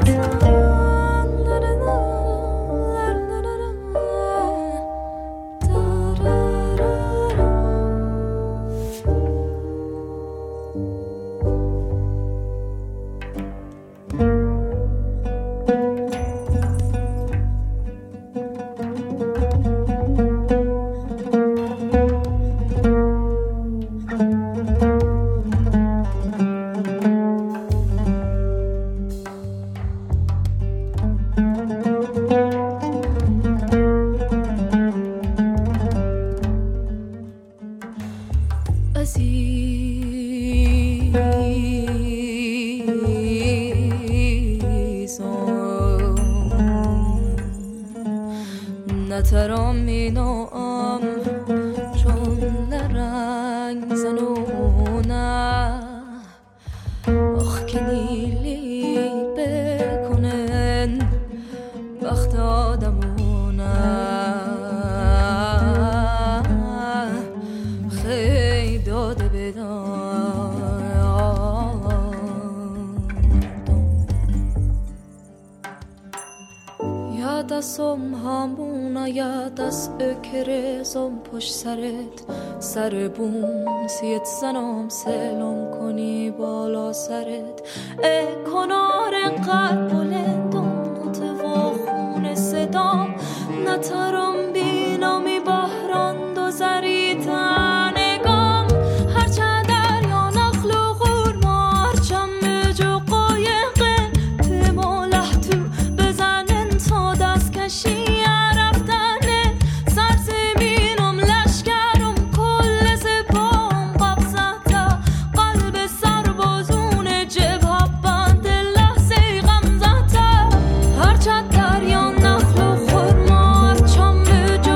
نترام مینام چون لرنگ زنونه آخ که نیلی بکنن وقت آدمونه خیلی داده بدان دستم همونه یا دست اکرزم پشت سرت سر بوم سیت زنم سلام کنی بالا سرت ای کنار قد بلندم نتوا خون صدام نترم بینامی بحران دو زری تنگام هرچه دریا نخل و خورما هرچه مج و قایقه پیما لحتو بزنن تا دست کشی رفتنه سر زمینم لشکرم کل سپاهم قبضته قلب سربازون جبهه بند لحظه غم زده هرچه دریا نخل و خورما هرچه مج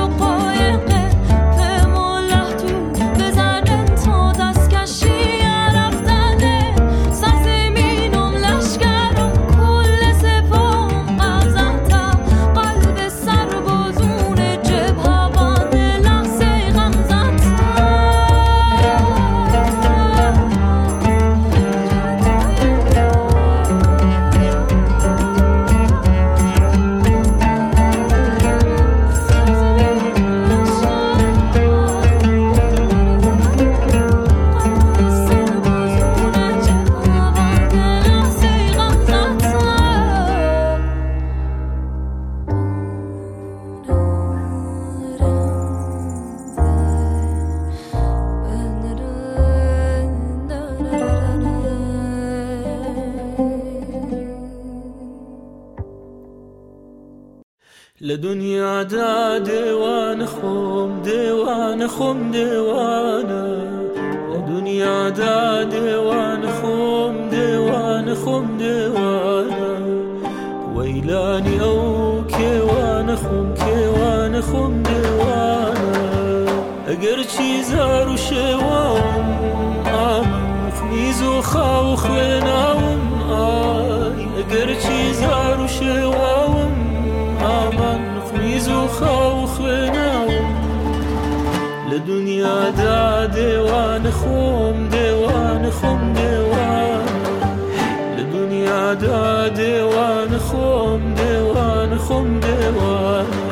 لدنیا دا دیوان خوم دیوان خوم دیوانه لدنیا دا دیوان خوم دیوان خوم دیوانه ویلانی او کیوان خوم کیوان خوم دیوانه اگر چیزا رو شوام آمن مخمیز و خواو خویناوم آی اگر چیزا رو شوام آمن مخمیز و خواو خویناوم لدنیا دا دیوان خوم دیوان خوم دیوانه لدنیا دا دیوان خوم دیوان خوم دیوانه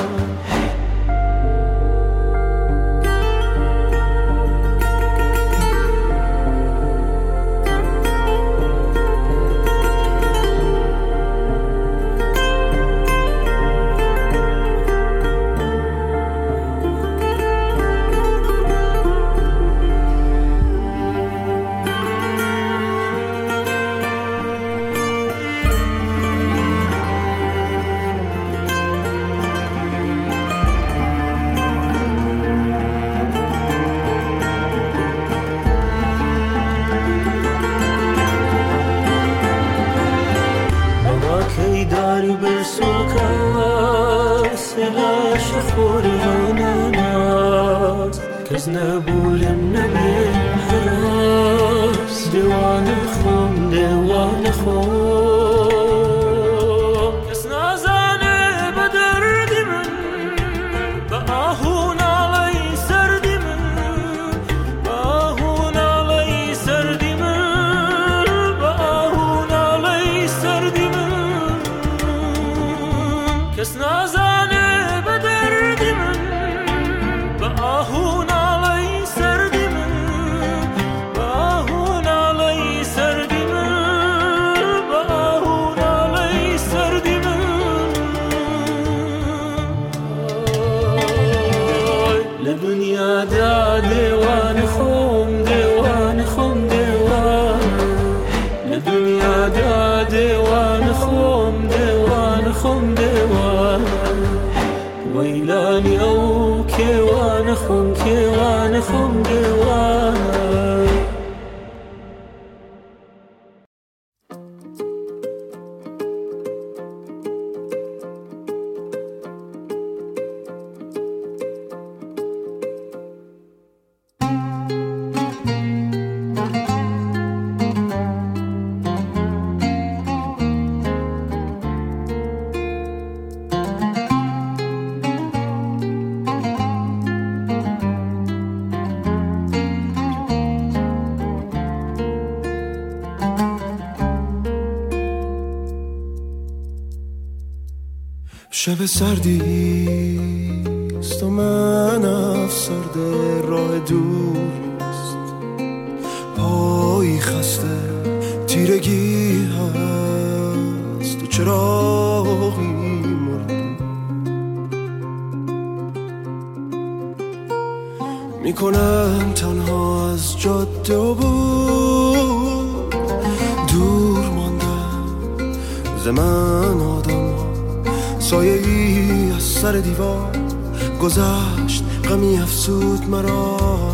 کس نبولم نبیم حراس دیوان خوم دیوان خوم کس نازانه به دردی من به آهون علی سردی من به آهون علی سردی من به آهون علی سردی من کس نازانه به دردی من به آهون دا دیوان خوم دیوان خوم دیوانه لدنیا دا دیوان خوم دیوان خوم دیوانه ویلانی او کیوان خوم کیوان خوم دیوانه شب سردیست و من افسرده راه دوریست پایی خسته تیرگی هست و چراغی مرده میکنم تنها از جاده و بود دور ماندم زمان آدم سایه ای از سر دیوار گذشت غمی افسود مرا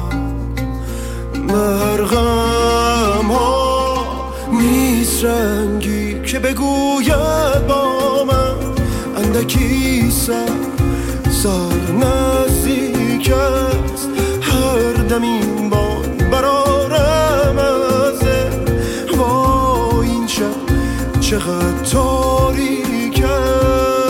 مرغم ها نیست رنگی که بگوید با من اندکی سر سر نزدیک است هر دم این بان برارم ازه وای این شب چقدر تاریک است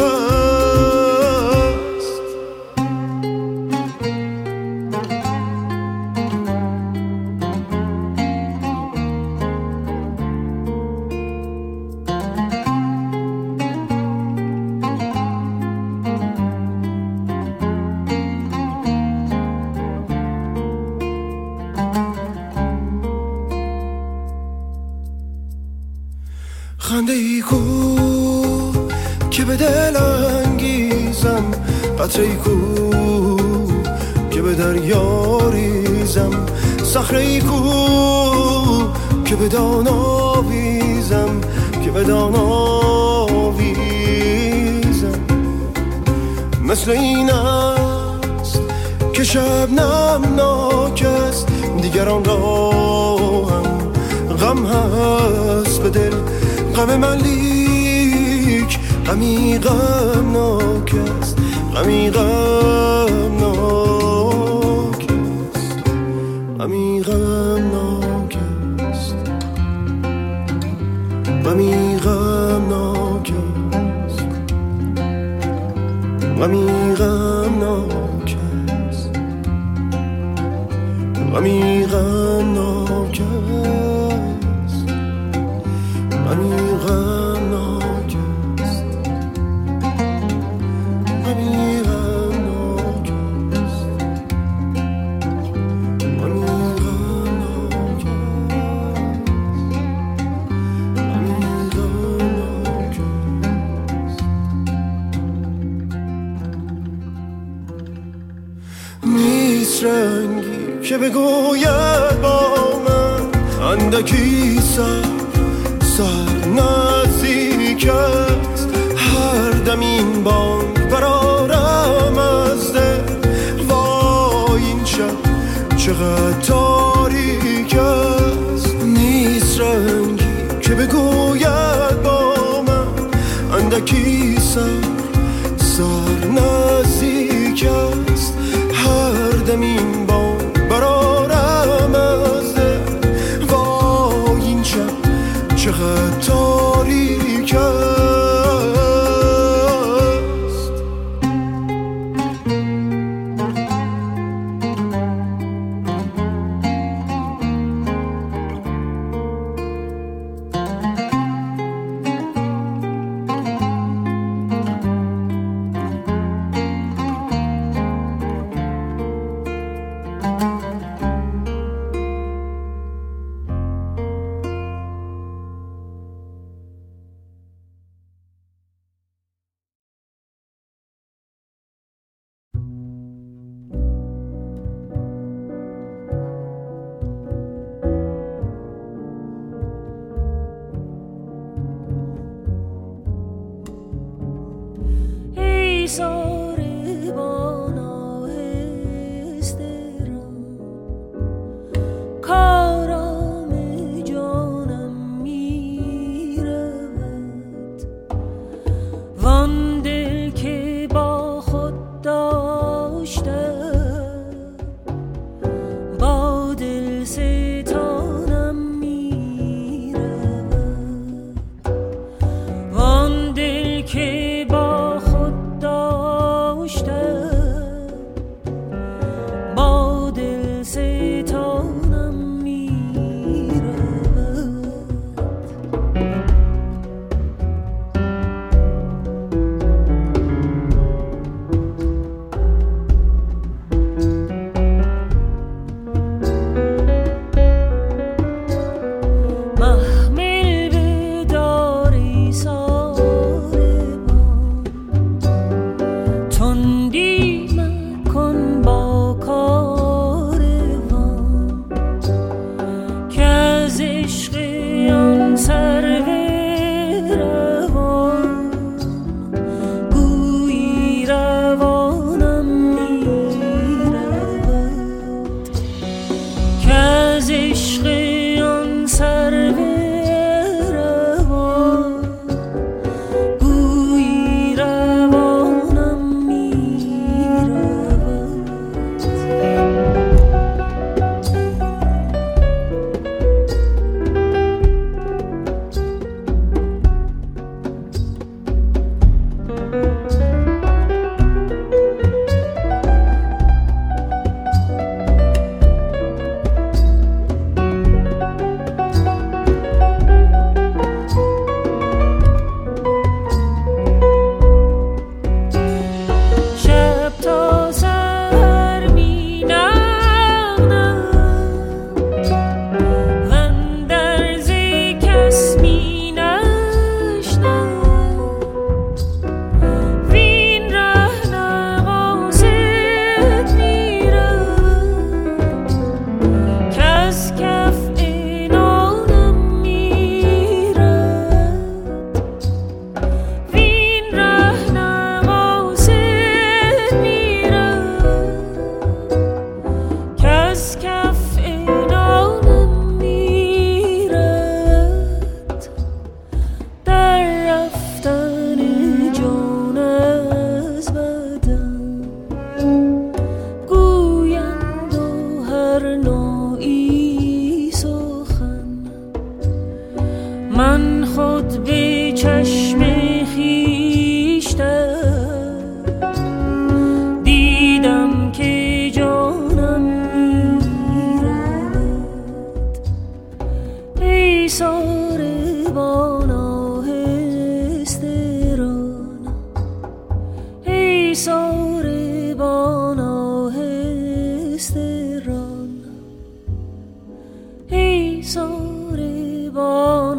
خنده ای کو که به دل انگیزم قطره ای کو که به دریا ریزم صخره ای کو که به دان آویزم که به دان آویزم مثل این است که شبنم ناک است، دیگران را هم غم هست به دل، غم من لیک غمی غمناک است، غمی غمناک است، غمی غمناک است، غمی غمناک است، غمی غمناک است، غمی غمناک است، غمی غمناک است، غمی غمناک است، غمی غمناک است. نیست رنگی که بگوید با من اندکی سر سر نزدیک است، هر دم این بانگ برارم از دل، وای این شب چقدر تاریک است. نیست رنگی که بگوید با من اندکی سر سر نزدیک است، هر دم این بانگ برارم از دل، وای این شب چقدر تاریک است. که با خود داشت آمد به چشم خیشتن دیدم که جانم میرد ای ساربان آهستران ای ساربان آهستران ای ساربان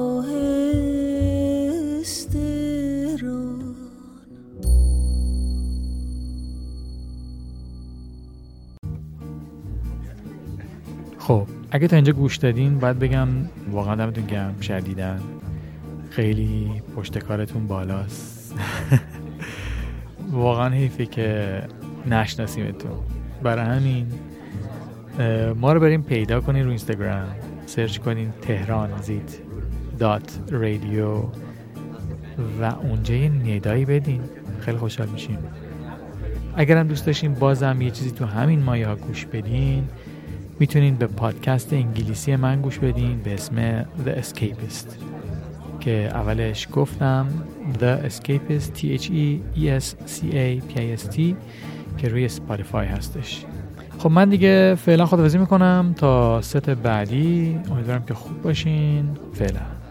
آهستران. خب اگه تا اینجا گوش دادین باید بگم واقعا دمتون گرم شدیدن، خیلی پشت کارتون بالاست. واقعا حیفه که نشناسیمتون. برای همین ما رو بریم پیدا کنین رو اینستاگرام، سرچ کنین تهران زیت دات رادیو و اونجا یه ندایی بدین، خیلی خوشحال میشیم. اگرم دوست داشتین بازم یه چیزی تو همین مایه ها گوش بدین، میتونین به پادکست انگلیسی من گوش بدین به اسم The Escapist که اولش گفتم The Escapist T H E E S C A P I S T که روی سپاتیفای هستش. خب من دیگه فعلا خداحافظی میکنم تا ست بعدی، امیدوارم که خوب باشین. فعلا